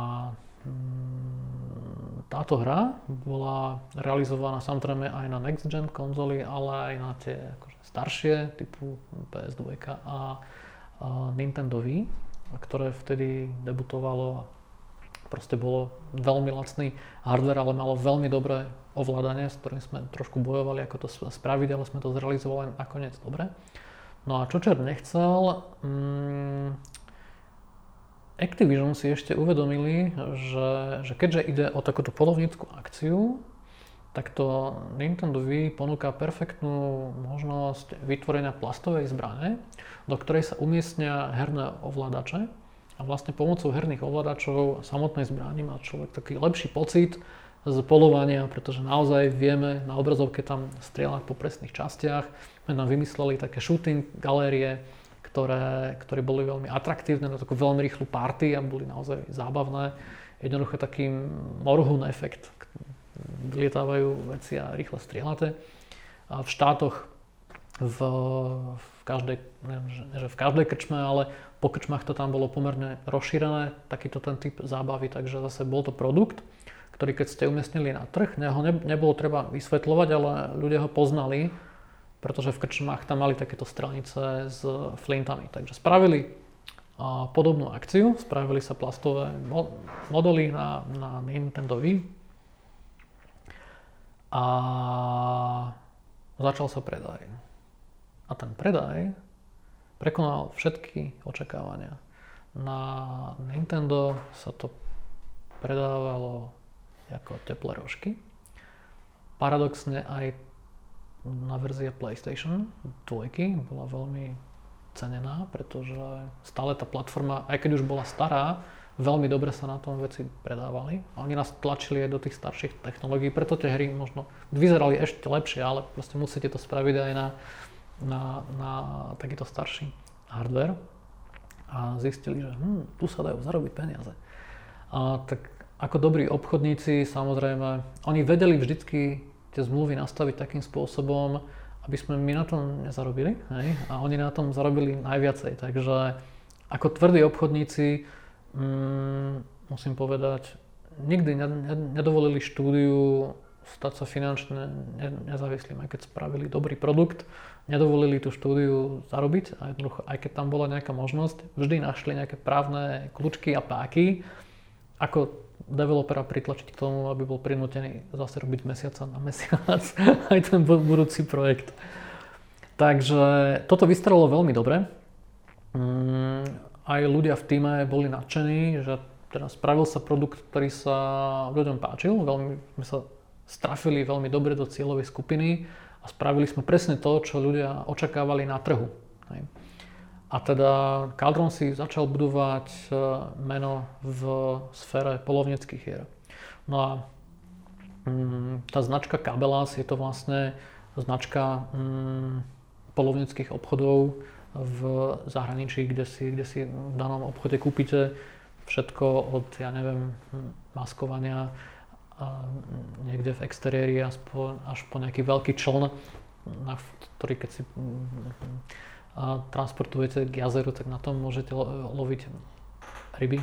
táto hra bola realizovaná samozrejme aj na next gen konzoly, ale aj na tie akože staršie, typu pé es dva a, a Nintendo Wii, ktoré vtedy debutovalo. Proste bolo veľmi lacný hardware, ale malo veľmi dobré ovládanie, s ktorým sme trošku bojovali, ako to spraviť, ale sme to zrealizovali nakoniec dobre. No a čo čert nechcel, um, Activision si ešte uvedomili, že, že keďže ide o takúto polovnícku akciu, tak to Nintendo Wii ponúka perfektnú možnosť vytvorenia plastovej zbrane, do ktorej sa umiestnia herné ovládače. A vlastne pomocou herných ovládačov samotnej zbrani má človek taký lepší pocit z polovania, pretože naozaj vieme na obrazovke tam strieľať po presných častiach. My nám vymysleli také shooting galérie, ktoré, ktoré boli veľmi atraktívne na takú veľmi rýchlu party a boli naozaj zábavné. Jednoducho taký morhun efekt. Vylietávajú veci a rýchle strieľate. A v štátoch v, v každej, neviem, že v každej krčme, ale po krčmách to tam bolo pomerne rozšírené, takýto ten typ zábavy, takže zase bol to produkt, ktorý keď ste umiestnili na trh, ho ne, nebolo treba vysvetľovať, ale ľudia ho poznali, pretože v krčmách tam mali takéto strelnice s flintami. Takže spravili a, podobnú akciu, spravili sa plastové mo- modely na, na Nintendo Wii a začal sa predaj. A ten predaj prekonal všetky očakávania. Na Nintendo sa to predávalo ako teplé rožky. Paradoxne aj na verzia PlayStation dva bola veľmi cenená, pretože stále tá platforma, aj keď už bola stará, veľmi dobre sa na tom veci predávali. A oni nás tlačili aj do tých starších technológií, preto tie hry možno vyzerali ešte lepšie, ale proste musíte to spraviť aj na, na, na takýto starší hardware. A zistili, že hm, tu sa dajú zarobiť peniaze. A tak ako dobrí obchodníci, samozrejme, oni vedeli vždycky tie zmluvy nastaviť takým spôsobom, aby sme my na tom nezarobili, hej? A oni na tom zarobili najviacej. Takže ako tvrdí obchodníci, mm, musím povedať, nikdy nedovolili štúdiu stať sa finančne nezávislým, aj keď spravili dobrý produkt, nedovolili tú štúdiu zarobiť a jednoducho, aj keď tam bola nejaká možnosť, vždy našli nejaké právne kľúčky a páky, ako developera pritlačiť k tomu, aby bol prinútený zase robiť mesiaca na mesiac aj ten budúci projekt. Takže toto vystrelilo veľmi dobre. Aj ľudia v tíme boli nadšení, že teda spravil sa produkt, ktorý sa ľuďom páčil. Veľmi sme sa strafili veľmi dobre do cieľovej skupiny a spravili sme presne to, čo ľudia očakávali na trhu. A teda Cauldron si začal budovať meno v sfére polovníckych hier. No a mm, tá značka Cabela's je to vlastne značka mm, polovníckych obchodov v zahraničí, kde si, kde si v danom obchode kúpite všetko od, ja neviem, maskovania a niekde v exteriéri až po, až po nejaký veľký čln, na ktorý keď si a transportujete k jazeru, tak na tom môžete lo- loviť ryby.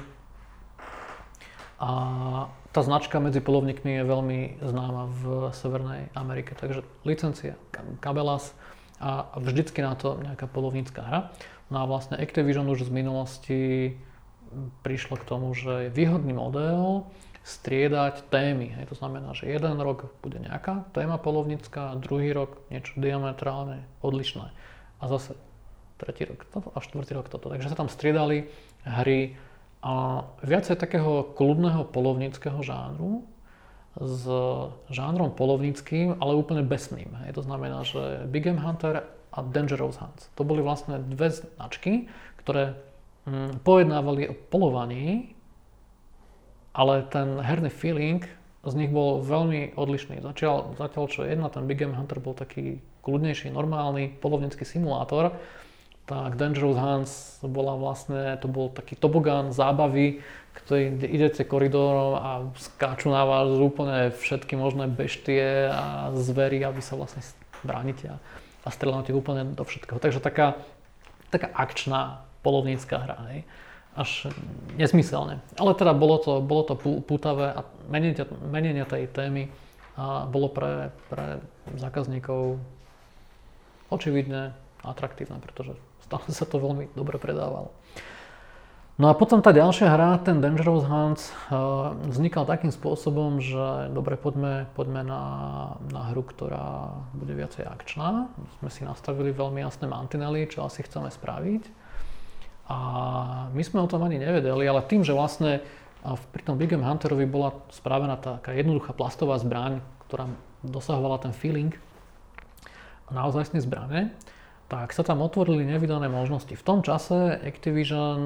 A tá značka medzi polovníkmi je veľmi známa v Severnej Amerike, takže licencia Cabela's a vždycky na to nejaká polovnícka hra. No a vlastne Activision už z minulosti prišlo k tomu, že je výhodný model striedať témy. Hej, to znamená, že jeden rok bude nejaká téma polovnícka, druhý rok niečo diametrálne odlišné. A zase tretí rok toto a štvrtý rok toto. Takže sa tam striedali hry a viacej takého kľudného polovníckeho žánru s žánrom polovníckým, ale úplne besným. Hej. To znamená, že Big Game Hunter a Dangerous Hunts. To boli vlastne dve značky, ktoré hm, pojednávali o polovaní, ale ten herný feeling z nich bol veľmi odlišný. Zatiaľ, zatiaľ čo jedna, ten Big Game Hunter bol taký kľudnejší, normálny polovnícky simulátor, tak Dangerous Hunts bola vlastne, to bol taký tobogán zábavy, ktorý idete koridorom a skáču na vás úplne všetky možné beštie a zvery, aby sa vlastne bránite a, a strieľate úplne do všetkého. Takže taká, taká akčná polovnícka hra, hej. Až nesmyselne. Ale teda bolo to, bolo to pútavé a menenie, menenie tej témy a bolo pre, pre zákazníkov očividne atraktívne, pretože stále sa to veľmi dobre predávalo. No a potom tá ďalšia hra, ten Dangerous Hunts, vznikal takým spôsobom, že dobre, poďme, poďme na, na hru, ktorá bude viacej akčná. Sme si nastavili veľmi jasné mantinely, čo asi chceme spraviť. A my sme o tom ani nevedeli, ale tým, že vlastne pri tom Big Game Hunterovi bola spravená taká jednoduchá plastová zbraň, ktorá dosahovala ten feeling naozajstné zbrane, tak sa tam otvorili nevydané možnosti. V tom čase Activision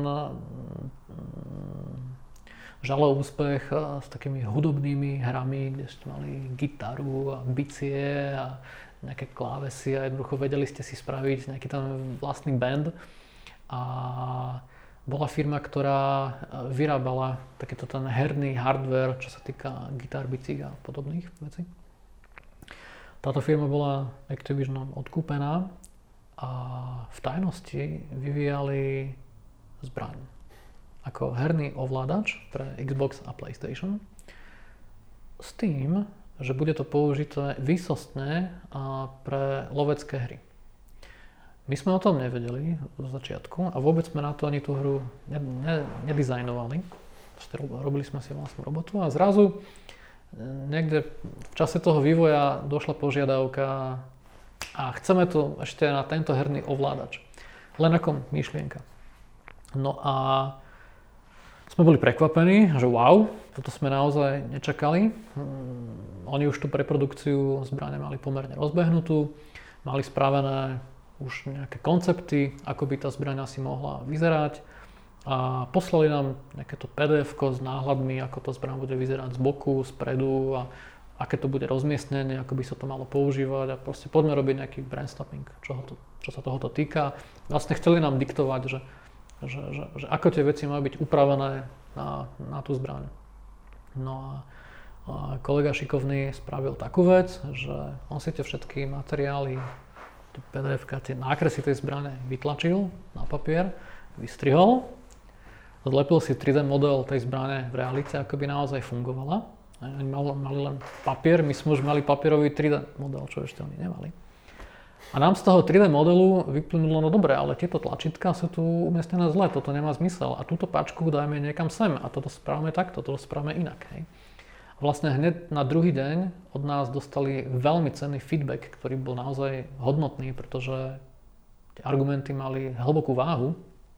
žalo úspech s takými hudobnými hrami, kde ste mali gitaru a bicie a nejaké klávesy a jednoducho vedeli ste si spraviť nejaký tam vlastný band. a bola firma, ktorá vyrábala takýto ten herný hardware, čo sa týka gitár, bicík a podobných vecí. Táto firma bola Activisionom odkúpená a v tajnosti vyvíjali zbraň ako herný ovládač pre Xbox a PlayStation s tým, že bude to použité výsostne pre lovecké hry. My sme o tom nevedeli zo začiatku a vôbec sme na to ani tú hru ne, ne, nedizajnovali. Robili sme si vlastnú robotu a zrazu niekde v čase toho vývoja došla požiadavka a chceme tu ešte na tento herný ovládač. Len ako myšlienka. No a sme boli prekvapení, že wow, toto sme naozaj nečakali. Oni už tú preprodukciu zbrane mali pomerne rozbehnutú, mali spravené už nejaké koncepty, ako by tá zbraň asi mohla vyzerať a poslali nám nejaké to pé dé efko s náhľadmi, ako tá zbraň bude vyzerať z boku, spredu a aké to bude rozmiestnenie, ako by sa to malo používať a proste poďme robiť nejaký brainstorming, čo, to, čo sa tohoto týka. Vlastne chceli nám diktovať, že Že, že, že ako tie veci majú byť upravené na, na tú zbraň. No a, a kolega šikovný spravil takú vec, že on si tie všetky materiály, tie pé dé efka, tie nákresy tej zbrane vytlačil na papier, vystrihol, zlepil si tri dé model tej zbrane v realite, ako by naozaj fungovala. Oni mali, mali len papier, my sme už mali papierový tri dé model, čo ešte oni nemali. A nám z toho tri dé modelu vyplynulo, no dobre, ale tieto tlačítka sú tu umiestnené zle, toto nemá zmysel a túto páčku dajme niekam sem a toto spravíme takto, toto spravíme inak. Hej. A vlastne hneď na druhý deň od nás dostali veľmi cenný feedback, ktorý bol naozaj hodnotný, pretože tie argumenty mali hlbokú váhu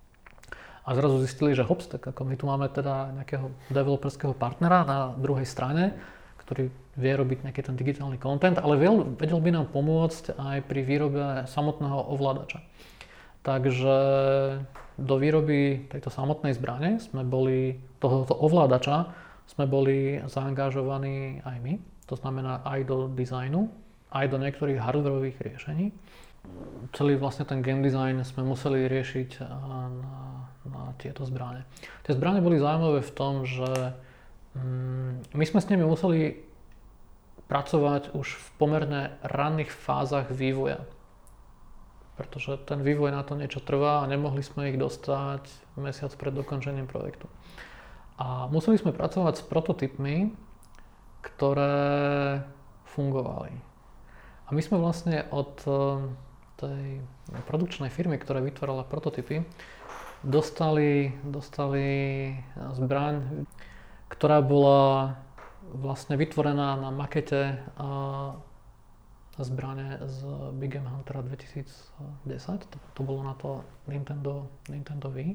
a zrazu zistili, že hops, tak ako my tu máme teda nejakého developerského partnera na druhej strane, ktorý vie robiť nejaký ten digitálny content, ale vedel by nám pomôcť aj pri výrobe samotného ovládača. Takže do výroby tejto samotnej zbrane sme boli, tohoto ovládača sme boli zaangažovaní aj my. To znamená aj do dizajnu, aj do niektorých hardwareových riešení. Celý vlastne ten game design sme museli riešiť na, na tieto zbrane. Tie zbrane boli zaujímavé v tom, že my sme s nimi museli pracovať už v pomerne ranných fázach vývoja. Pretože ten vývoj na to niečo trvá a nemohli sme ich dostať mesiac pred dokončením projektu. A museli sme pracovať s prototypmi, ktoré fungovali. A my sme vlastne od tej produkčnej firmy, ktorá vytvárala prototypy, dostali, dostali zbraň, ktorá bola vlastne vytvorená na makete zbrane z Big Game Huntera dvetisícdesať. To, to bolo na to Nintendo, Nintendo Wii.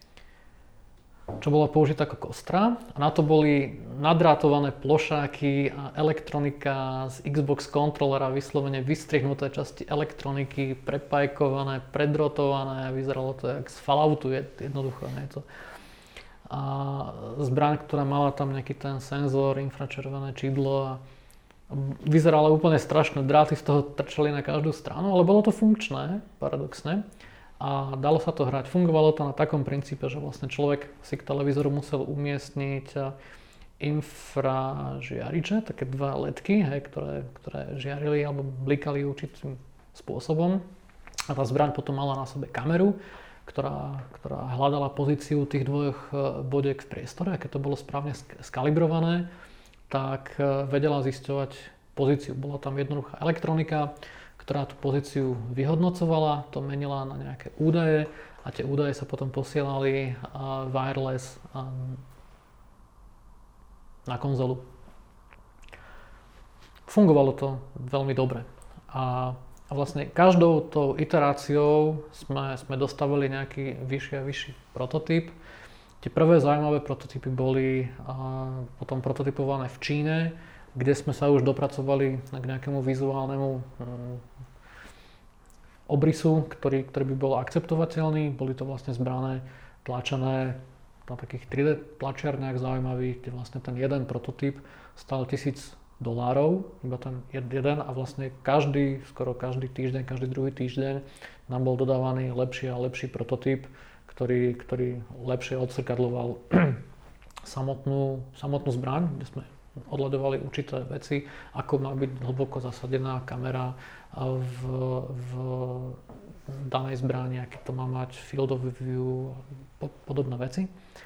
Čo bola použitá ako kostra. A na to boli nadrátované plošáky a elektronika z Xbox kontrolera, vyslovene vystrihnuté časti elektroniky, prepajkované, predrotované. Vyzeralo to jak z Falloutu, jednoducho niečo. A zbraň, ktorá mala tam nejaký ten senzor, infračervené čidlo a vyzerala úplne strašné, dráty z toho trčali na každú stranu, ale bolo to funkčné, paradoxne. A dalo sa to hrať. Fungovalo to na takom princípe, že vlastne človek si k televízoru musel umiestniť infražiariče, také dva ledky, hej, ktoré, ktoré žiarili alebo blikali určitým spôsobom. A tá zbraň potom mala na sebe kameru, Ktorá, ktorá hľadala pozíciu tých dvoch bodiek v priestore a keď to bolo správne skalibrované, tak vedela zisťovať pozíciu. Bola tam jednoduchá elektronika, ktorá tú pozíciu vyhodnocovala, to menila na nejaké údaje a tie údaje sa potom posielali wireless na konzolu. Fungovalo to veľmi dobre. A A vlastne každou tou iteráciou sme, sme dostavili nejaký vyšší a vyšší prototyp. Tie prvé zaujímavé prototypy boli a, potom prototypované v Číne, kde sme sa už dopracovali k nejakému vizuálnemu um, obrysu, ktorý, ktorý by bol akceptovateľný. Boli to vlastne zbrané tlačené na takých tri dé tlačiarniach zaujímavých, kde vlastne ten jeden prototyp stal tisíc dolárov, iba ten jeden a vlastne každý, skoro každý týždeň, každý druhý týždeň nám bol dodávaný lepší a lepší prototyp, ktorý, ktorý lepšie odzrkadľoval samotnú, samotnú zbraň, kde sme odhľadovali určité veci, ako má byť hlboko zasadená kamera v, v danej zbrani, aký to má mať field of view, podobné veci.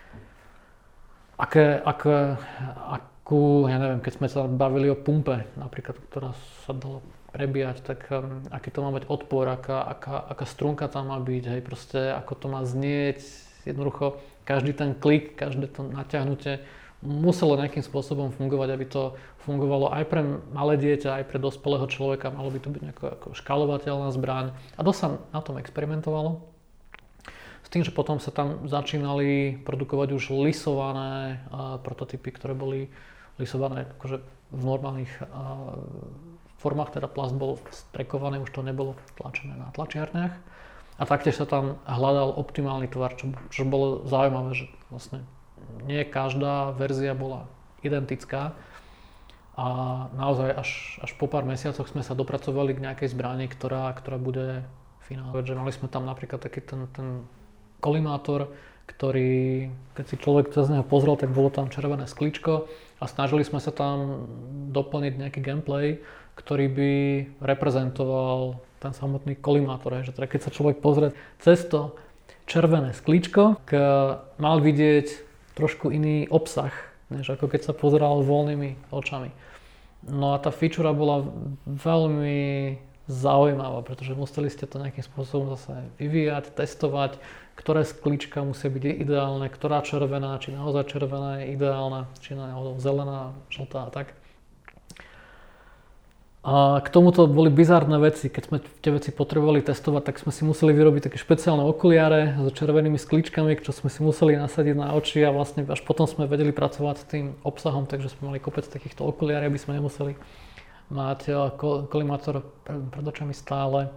Aké, aké, akú, ja neviem, keď sme sa bavili o pumpe, napríklad, ktorá sa dala prebíjať, tak um, aký to má mať odpor, aká, aká, aká strunka tam má byť, hej, proste, ako to má znieť, jednoducho, každý ten klik, každé to natiahnutie muselo nejakým spôsobom fungovať, aby to fungovalo aj pre malé dieťa, aj pre dospelého človeka, malo by to byť nejako ako škálovateľná zbraň a dosť sa na tom experimentovalo. S tým, že potom sa tam začínali produkovať už lisované uh, prototypy, ktoré boli lisované akože v normálnych uh, formách, teda plast bol strekovaný, už to nebolo tlačené na tlačiarniach. A taktiež sa tam hľadal optimálny tvar, čo, čo bolo zaujímavé, že vlastne nie každá verzia bola identická. A naozaj až, až po pár mesiacoch sme sa dopracovali k nejakej zbrani, ktorá, ktorá bude finálna. Že mali sme tam napríklad taký ten, ten kolimátor, ktorý, keď si človek cez neho pozrel, tak bolo tam červené sklíčko a snažili sme sa tam doplniť nejaký gameplay, ktorý by reprezentoval ten samotný kolimátor. Že teda keď sa človek pozrie cez to červené sklíčko, mal vidieť trošku iný obsah, než ako keď sa pozeral voľnými očami. No a tá feature bola veľmi zaujímavá, pretože museli ste to nejakým spôsobom zase vyvíjať, testovať, ktoré sklíčka musia byť ideálne, ktorá červená, či naozaj červená je ideálna, či naozaj zelená, žltá a tak. A k tomuto boli bizarné veci, keď sme tie veci potrebovali testovať, tak sme si museli vyrobiť také špeciálne okuliare so červenými sklíčkami, čo sme si museli nasadiť na oči a vlastne až potom sme vedeli pracovať s tým obsahom, takže sme mali kopec takýchto okuliárov, aby sme nemuseli mať kolimátor pred očami stále.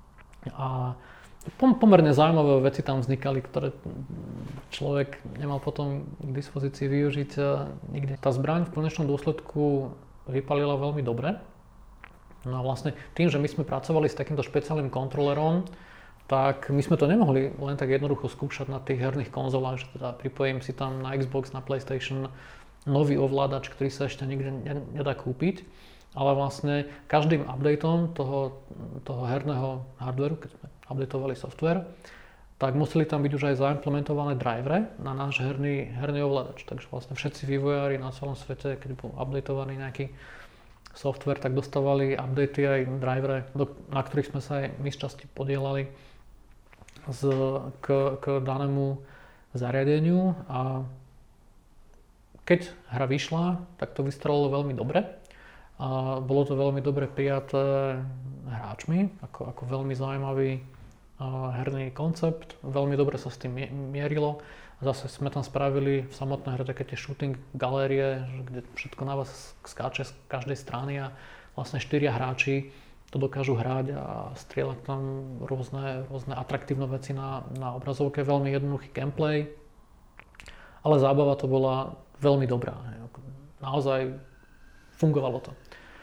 A pomerne zaujímavé veci tam vznikali, ktoré človek nemal potom k dispozícii využiť nikde. Tá zbraň v konečnom dôsledku vypalila veľmi dobre. No a vlastne tým, že my sme pracovali s takýmto špeciálnym kontrolerom, tak my sme to nemohli len tak jednoducho skúšať na tých herných konzolách, že teda pripojím si tam na Xbox, na PlayStation nový ovládač, ktorý sa ešte nikde nedá kúpiť. Ale vlastne každým updateom toho, toho herného hardwareu, keď sme updateovali software, tak museli tam byť už aj zaimplementované drivere na náš herný, herný ovládač. Takže vlastne všetci vývojári na celom svete, keď bol updateovaný nejaký software, tak dostávali updaty aj drivere, na ktorých sme sa aj my z časti podielali z, k, k danému zariadeniu. A keď hra vyšla, tak to vystrelilo veľmi dobre. A bolo to veľmi dobre prijaté hráčmi, ako, ako veľmi zaujímavý herný koncept. Veľmi dobre sa s tým mierilo. Zase sme tam spravili v samotnej hre také tie shooting galérie, kde všetko na vás skáče z každej strany a vlastne štyria hráči to dokážu hrať a strieľať tam rôzne, rôzne atraktívne veci na, na obrazovke. Veľmi jednoduchý gameplay, ale zábava to bola veľmi dobrá. Naozaj fungovalo to.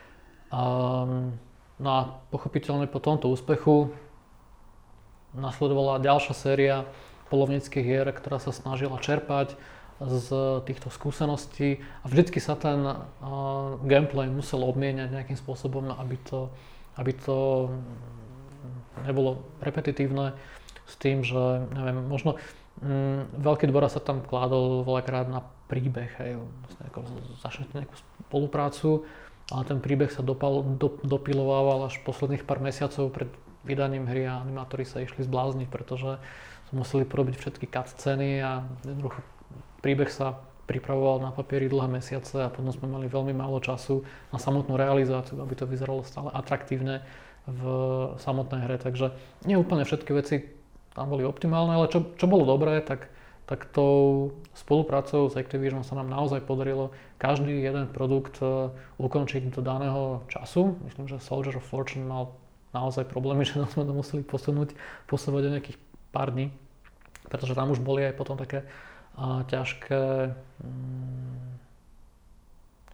Um, no a pochopiteľne po tomto úspechu nasledovala ďalšia séria polovníckych hier, ktorá sa snažila čerpať z týchto skúseností a vždycky sa ten uh, gameplay musel obmieniať nejakým spôsobom, aby to, aby to nebolo repetitívne s tým, že neviem, možno um, veľký dôraz sa tam kládol veľakrát na príbeh, hej, vlastne ako začnete nejakú spoluprácu, ale ten príbeh sa dopal, do, dopilovával až posledných pár mesiacov pred vydaním hry a animátori sa išli zblázniť, pretože museli porobiť všetky cutscény a jednoducho príbeh sa pripravoval na papieri dlhé mesiace a potom sme mali veľmi málo času na samotnú realizáciu, aby to vyzeralo stále atraktívne v samotnej hre. Takže nie úplne všetky veci tam boli optimálne, ale čo, čo bolo dobré, tak, tak tou spoluprácou s Activision sa nám naozaj podarilo každý jeden produkt ukončiť do daného času. Myslím, že Soldier of Fortune mal naozaj problémy, že sme to museli posunúť, posúvať o nejakých pár dní, pretože tam už boli aj potom také a, ťažké mm,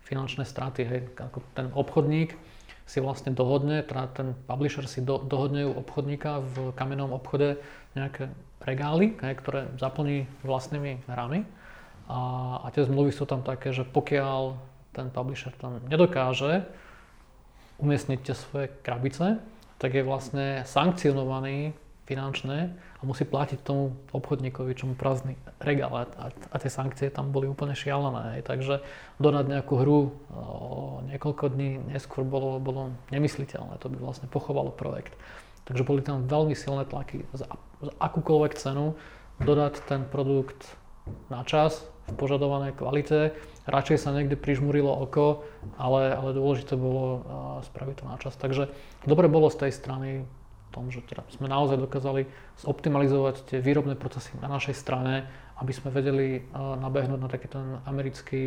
finančné straty. Hej. Ako ten obchodník si vlastne dohodne, teda ten publisher si do, dohodne u obchodníka v kamennom obchode nejaké regály, hej, ktoré zaplní vlastnými hrami. A, a tie zmluvy sú tam také, že pokiaľ ten publisher tam nedokáže umiestniť tie svoje krabice, tak je vlastne sankcionovaný finančne a musí platiť tomu obchodníkovi, čo mu prázdny regál. A, a tie sankcie tam boli úplne šialené. Hej. Takže dodať nejakú hru o niekoľko dní neskôr bolo, bolo nemysliteľné. To by vlastne pochovalo projekt. Takže boli tam veľmi silné tlaky. Za, za akúkoľvek cenu dodať ten produkt na čas, v požadovanej kvalite. Radšej sa niekde prižmurilo oko, ale, ale dôležité bolo uh, spraviť to na čas. Takže dobre bolo z tej strany v tom, že teda sme naozaj dokázali zoptimalizovať tie výrobné procesy na našej strane, aby sme vedeli uh, nabehnúť na taký ten americký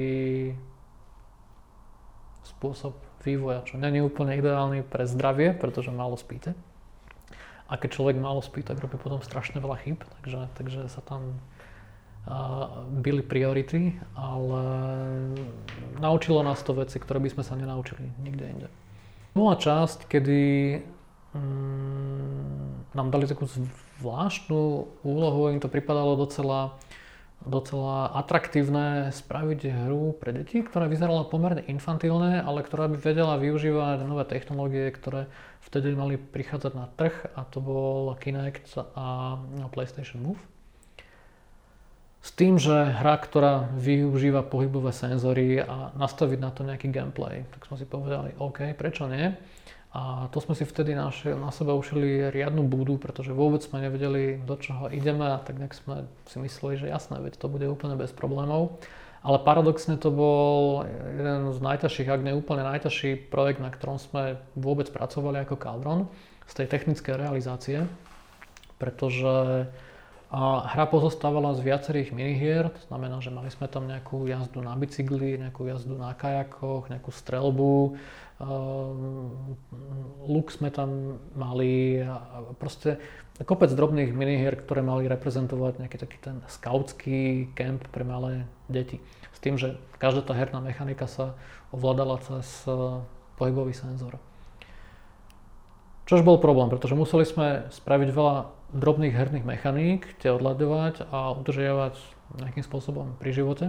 spôsob vývoja, čo nie je úplne ideálny pre zdravie, pretože málo spíte. A keď človek málo spí, tak robí potom strašne veľa chýb, takže, takže sa tam Uh, byli priority, ale naučilo nás to veci, ktoré by sme sa nenaučili nikde inde. Bola časť, kedy um, nám dali takú zvláštnu úlohu, im to pripadalo docela, docela atraktívne spraviť hru pre deti, ktorá vyzerala pomerne infantilné, ale ktorá by vedela využívať nové technológie, ktoré vtedy mali prichádzať na trh, a to bol Kinect a PlayStation Move. S tým, že hra, ktorá využíva pohybové senzory a nastaviť na to nejaký gameplay, tak sme si povedali, OK, prečo nie? A to sme si vtedy naši, na seba ušili riadnu búdu, pretože vôbec sme nevedeli, do čoho ideme, a tak nejak sme si mysleli, že jasné, veď to bude úplne bez problémov. Ale paradoxne to bol jeden z najťažších, ak nie úplne najťažší projekt, na ktorom sme vôbec pracovali ako Cauldron, z tej technickej realizácie, pretože a hra pozostávala z viacerých minihier, to znamená, že mali sme tam nejakú jazdu na bicykli, nejakú jazdu na kajakoch, nejakú streľbu, um, luk sme tam mali a proste kopec drobných minihier, ktoré mali reprezentovať nejaký taký ten skautský kemp pre malé deti. S tým, že každá tá herná mechanika sa ovládala cez uh, pohybový senzor. Čož bol problém, pretože museli sme spraviť veľa drobných herných mechaník, tie odľadovať a udržiavať nejakým spôsobom pri živote.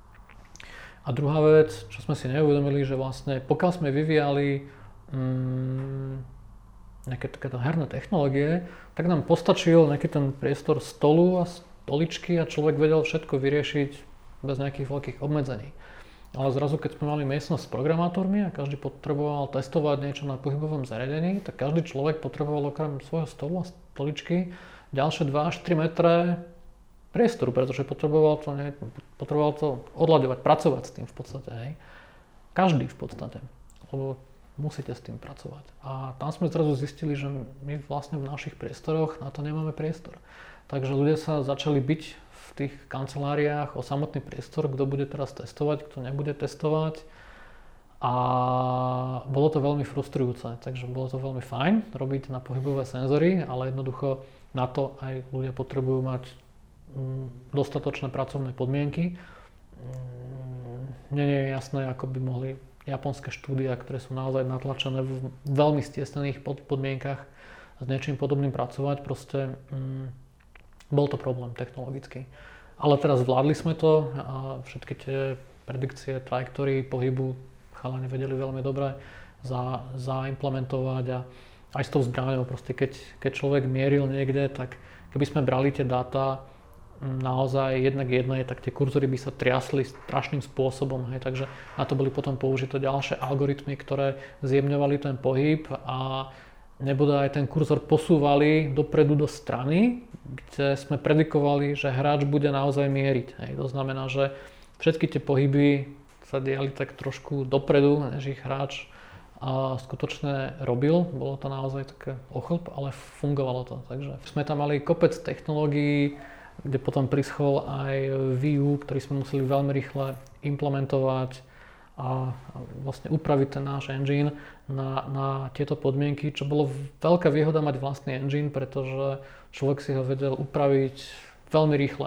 A druhá vec, čo sme si neuvedomili, že vlastne pokiaľ sme vyvíjali mm, nejaké takéto herné technológie, tak nám postačil nejaký ten priestor stolu a stoličky a človek vedel všetko vyriešiť bez nejakých veľkých obmedzení. Ale zrazu, keď sme mali miestnosť s programátormi a každý potreboval testovať niečo na pohybovom zariadení, tak každý človek potreboval okrem svojho stolu a stoličky ďalšie dva až tri metre priestoru, pretože potreboval to, ne, potreboval to odľaďovať, pracovať s tým v podstate. Hej. Každý v podstate, lebo musíte s tým pracovať. A tam sme zrazu zistili, že my vlastne v našich priestoroch na to nemáme priestor. Takže ľudia sa začali byť v tých kanceláriách o samotný priestor, kto bude teraz testovať, kto nebude testovať. A bolo to veľmi frustrujúce, takže bolo to veľmi fajn robiť na pohybové senzory, ale jednoducho na to aj ľudia potrebujú mať dostatočné pracovné podmienky. Nie je jasné, ako by mohli japonské štúdia, ktoré sú naozaj natlačené v veľmi stiesnených podmienkach s niečím podobným pracovať. Proste bol to problém technologický. Ale teraz zvládli sme to a všetky tie predikcie, trajektórií pohybu chalani vedeli veľmi dobre za, zaimplementovať a aj s tou zbraňou, proste keď, keď človek mieril niekde, tak keby sme brali tie dáta naozaj jednak jednej, tak tie kurzory by sa triasli strašným spôsobom, hej, takže na to boli potom použité ďalšie algoritmy, ktoré zjemňovali ten pohyb a nebude aj ten kurzor posúvali dopredu do strany, kde sme predikovali, že hráč bude naozaj mieriť. Hej. To znamená, že všetky tie pohyby sa diali tak trošku dopredu, než ich hráč a skutočne robil. Bolo to naozaj také ochlp, ale fungovalo to. Takže sme tam mali kopec technológií, kde potom prischol aj vé ú, ktorý sme museli veľmi rýchle implementovať a vlastne upraviť ten náš engine na, na tieto podmienky, čo bolo veľká výhoda mať vlastný engine, pretože človek si ho vedel upraviť veľmi rýchle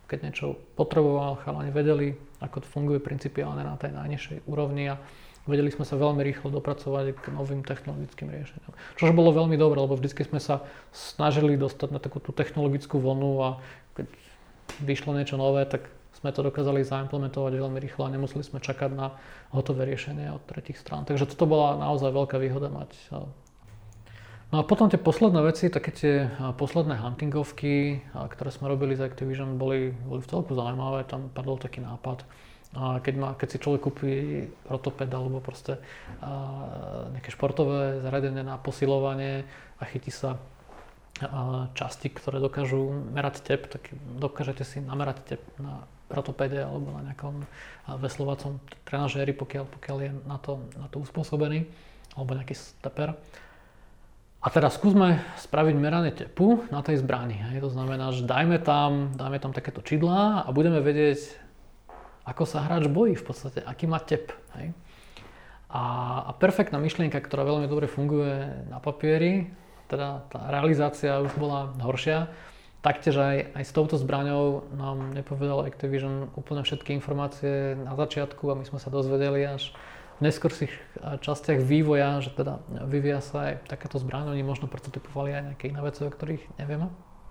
keď niečo potreboval, chalani vedeli, ako to funguje principiálne na tej najnižšej úrovni a vedeli sme sa veľmi rýchlo dopracovať k novým technologickým riešeniam. Čož bolo veľmi dobré, lebo vždy sme sa snažili dostať na takú tú technologickú vlnu a keď vyšlo niečo nové, tak sme to dokázali zaimplementovať veľmi rýchlo a nemuseli sme čakať na hotové riešenie od tretích strán. Takže toto bola naozaj veľká výhoda mať. No a potom tie posledné veci, také tie posledné huntingovky, ktoré sme robili z Activision, boli, boli v celku zaujímavé. Tam padol taký nápad, keď, má, keď si človek kúpi rotoped alebo proste nejaké športové zariadenie na posilovanie a chytí sa časti, ktoré dokážu merať tep, tak dokážete si namerať tep na rotopede alebo na nejakom veslovacom trenažéri, pokiaľ, pokiaľ je na to, na to uspôsobený, alebo nejaký steper. A teraz skúsme spraviť meranie tepu na tej zbrani. Hej. To znamená, že dajme tam, dajme tam takéto čidlá a budeme vedieť, ako sa hráč bojí v podstate, aký má tep. Hej. A, a perfektná myšlienka, ktorá veľmi dobre funguje na papieri, teda tá realizácia už bola horšia. Taktiež aj, aj s touto zbraňou nám nepovedal Activision úplne všetky informácie na začiatku a my sme sa dozvedeli až v neskorších častiach vývoja, že teda vyvíja sa aj takáto zbraň. Oni možno prototypovali aj nejaké iné veci, o ktorých nevieme.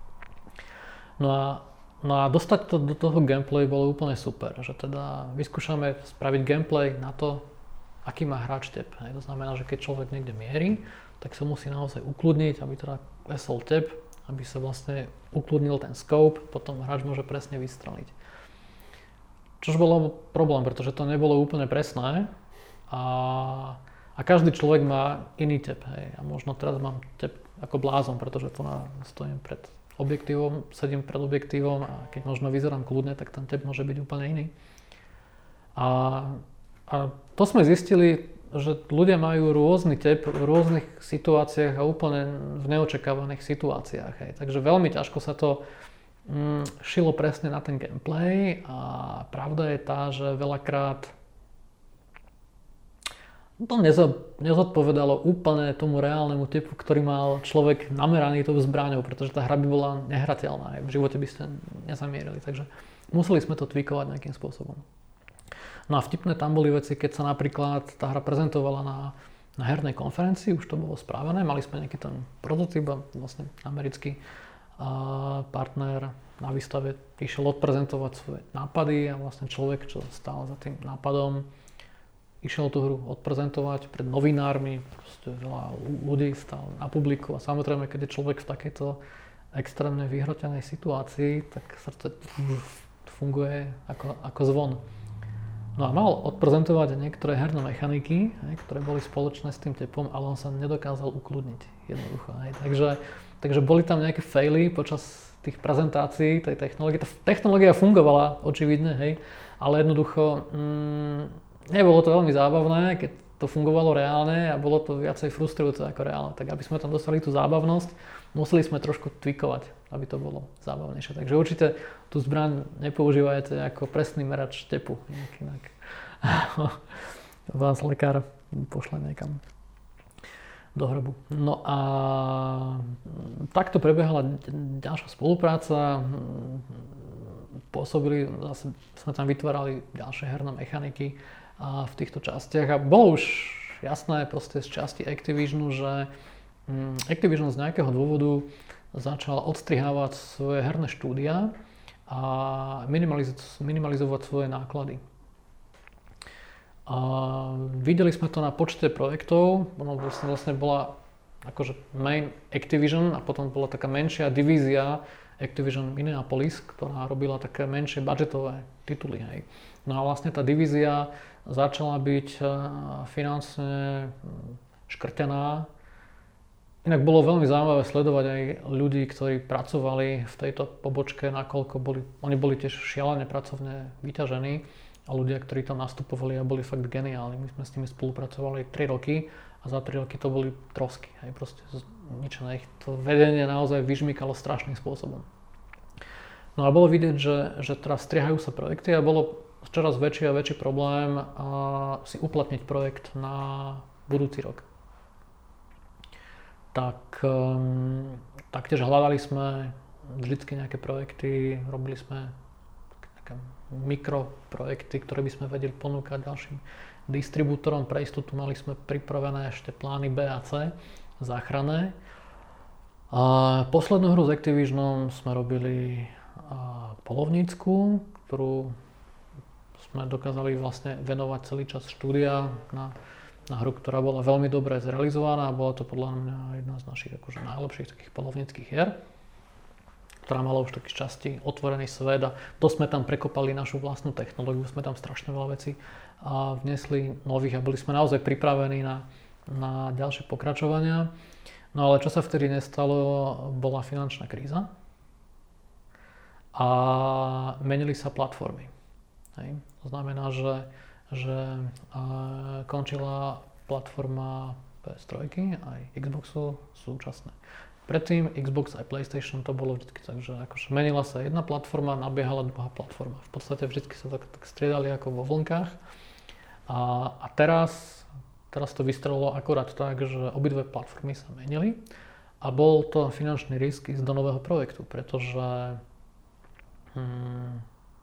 No a, no a dostať to do toho gameplay bolo úplne super, že teda vyskúšame spraviť gameplay na to, aký má hráč tep. To znamená, že keď človek niekde mierí, tak sa musí naozaj ukludniť, aby teda klesol tep, aby sa vlastne ukludnil ten scope, potom hráč môže presne vystreliť. Čož bolo problém, pretože to nebolo úplne presné a, a každý človek má iný tep. Hej. A možno teraz mám tep ako blázon, pretože tu na, stojím pred objektívom, sedím pred objektívom a keď možno vyzerám kľudne, tak ten tep môže byť úplne iný. A, a to sme zistili, že ľudia majú rôzny tep v rôznych situáciách a úplne v neočakávaných situáciách. Hej. Takže veľmi ťažko sa to mm, šilo presne na ten gameplay a pravda je tá, že veľakrát to nezodpovedalo úplne tomu reálnemu tepu, ktorý mal človek nameraný tou zbraňou, pretože tá hra by bola nehrateľná. Hej. V živote by ste nezamierili, takže museli sme to tweakovať nejakým spôsobom. No a vtipné tam boli veci, keď sa napríklad tá hra prezentovala na, na hernej konferencii, už to bolo správené, mali sme nejaký ten prototyp a vlastne americký a partner na výstave išiel odprezentovať svoje nápady a vlastne človek, čo stál za tým nápadom, išiel tú hru odprezentovať pred novinármi, proste veľa ľudí stál na publiku a samozrejme, keď je človek v takejto extrémne vyhrotenej situácii, tak srdce funguje ako, ako zvon. No a mal odprezentovať niektoré herné mechaniky, hej, ktoré boli spoločné s tým tepom, ale on sa nedokázal ukludniť jednoducho. Hej. Takže, takže boli tam nejaké faily počas tých prezentácií tej technológie. Tá technológia fungovala očividne, hej, ale jednoducho mm, nebolo to veľmi zábavné, keď to fungovalo reálne a bolo to viacej frustrujúce ako reálne. Tak aby sme tam dostali tú zábavnosť, museli sme trošku tweakovať, aby to bolo zábavnejšie. Takže určite tú zbraň nepoužívajte ako presný merač tepu. Inak vás lekár pošle niekam do hrobu. No a takto prebiehala ďalšia spolupráca. Pôsobili, zase sme tam vytvárali ďalšie herné mechaniky a v týchto častiach a bolo už jasné proste z časti Activisionu, že Activision z nejakého dôvodu začal odstrihávať svoje herné štúdia a minimaliz- minimalizovať svoje náklady. A videli sme to na počte projektov, ono vlastne, vlastne bola akože main Activision a potom bola taká menšia divízia Activision Minneapolis, ktorá robila také menšie budžetové tituly. Hej. No a vlastne tá divízia začala byť finančne škrtená. Inak bolo veľmi zaujímavé sledovať aj ľudí, ktorí pracovali v tejto pobočke, nakoľko boli, oni boli tiež šialene pracovne vyťažení a ľudia, ktorí tam nastupovali a boli fakt geniálni. My sme s nimi spolupracovali tri roky a za tri roky to boli trosky, hej, proste zničené. Ich to vedenie naozaj vyžmykalo strašným spôsobom. No a bolo vidieť, že, že teraz striehajú sa projekty a bolo čoraz väčší a väčší problém a si uplatniť projekt na budúci rok. Tak um, taktiež hľadali sme vždycky nejaké projekty, robili sme také mikroprojekty, ktoré by sme vedeli ponúkať ďalším distribútorom. Pre istotu mali sme pripravené ešte plány B a C, záchranné. A poslednú hru s Activisionom sme robili polovnícku, ktorú sme dokázali vlastne venovať celý čas štúdia na na hru, ktorá bola veľmi dobre zrealizovaná a bola to podľa mňa jedna z našich akože najlepších takých polovníckych hier, ktorá mala už taký časti otvorený svet a to sme tam prekopali našu vlastnú technológiu, sme tam strašne veľa vecí a vnesli nových a boli sme naozaj pripravení na, na ďalšie pokračovania. No ale čo sa vtedy nestalo, bola finančná kríza a menili sa platformy. Hej. To znamená, že že uh, končila platforma pé es tri aj Xboxu súčasné. Predtým Xbox aj PlayStation to bolo vždy tak, že akože menila sa jedna platforma, nabiehala druhá platforma. V podstate vždy sa tak, tak striedali ako vo vlnkách. A, a teraz, teraz to vystrelilo akorát tak, že obidve platformy sa menili a bol to finančný risk ísť do nového projektu, pretože hmm,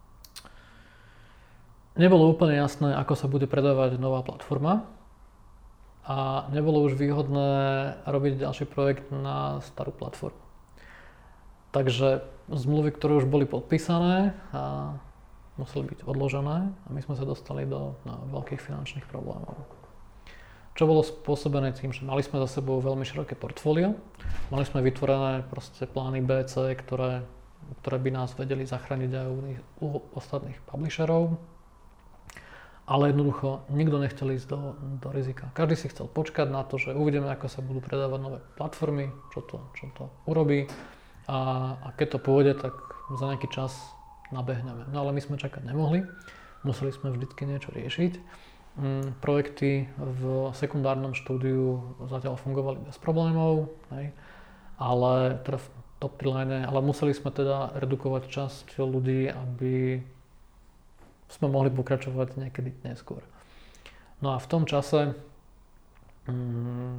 nebolo úplne jasné, ako sa bude predávať nová platforma a nebolo už výhodné robiť ďalší projekt na starú platformu. Takže zmluvy, ktoré už boli podpísané, a museli byť odložené a my sme sa dostali do no, veľkých finančných problémov. Čo bolo spôsobené tým, že mali sme za sebou veľmi široké portfólio, mali sme vytvorené proste plány B, C, ktoré, ktoré by nás vedeli zachrániť aj u, u ostatných publisherov. Ale jednoducho nikto nechcel ísť do, do rizika. Každý si chcel počkať na to, že uvidíme, ako sa budú predávať nové platformy, čo to, čo to urobí a, a keď to pôjde, tak za nejaký čas nabehneme. No ale my sme čakať nemohli, museli sme vždycky niečo riešiť. Mm, projekty v sekundárnom štúdiu zatiaľ fungovali bez problémov, hej, ale teda v top tri line, ale museli sme teda redukovať časť ľudí, aby sme mohli pokračovať niekedy neskôr. No a v tom čase mm,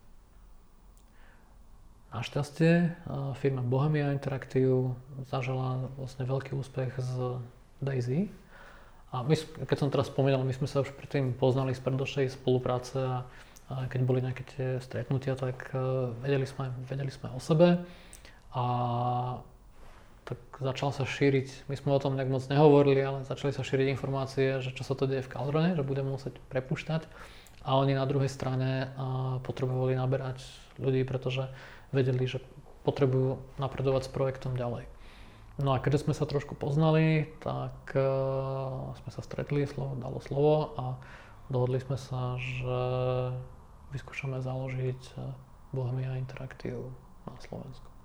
našťastie firma Bohemia Interactive zažila vlastne veľký úspech z DayZ. A my, keď som teraz spomínal, my sme sa už predtým poznali z predošlej spolupráce a, a keď boli nejaké tie stretnutia, tak uh, vedeli sme, vedeli sme o sebe a tak začal sa šíriť, my sme o tom nejak moc nehovorili, ale začali sa šíriť informácie, že čo sa to deje v Cauldrone, že budeme musieť prepúšťať a oni na druhej strane uh, potrebovali naberať ľudí, pretože vedeli, že potrebujú napredovať s projektom ďalej. No a keďže sme sa trošku poznali, tak uh, sme sa stretli, slovo dalo slovo a dohodli sme sa, že vyskúšame založiť Bohemia Interactive na Slovensku.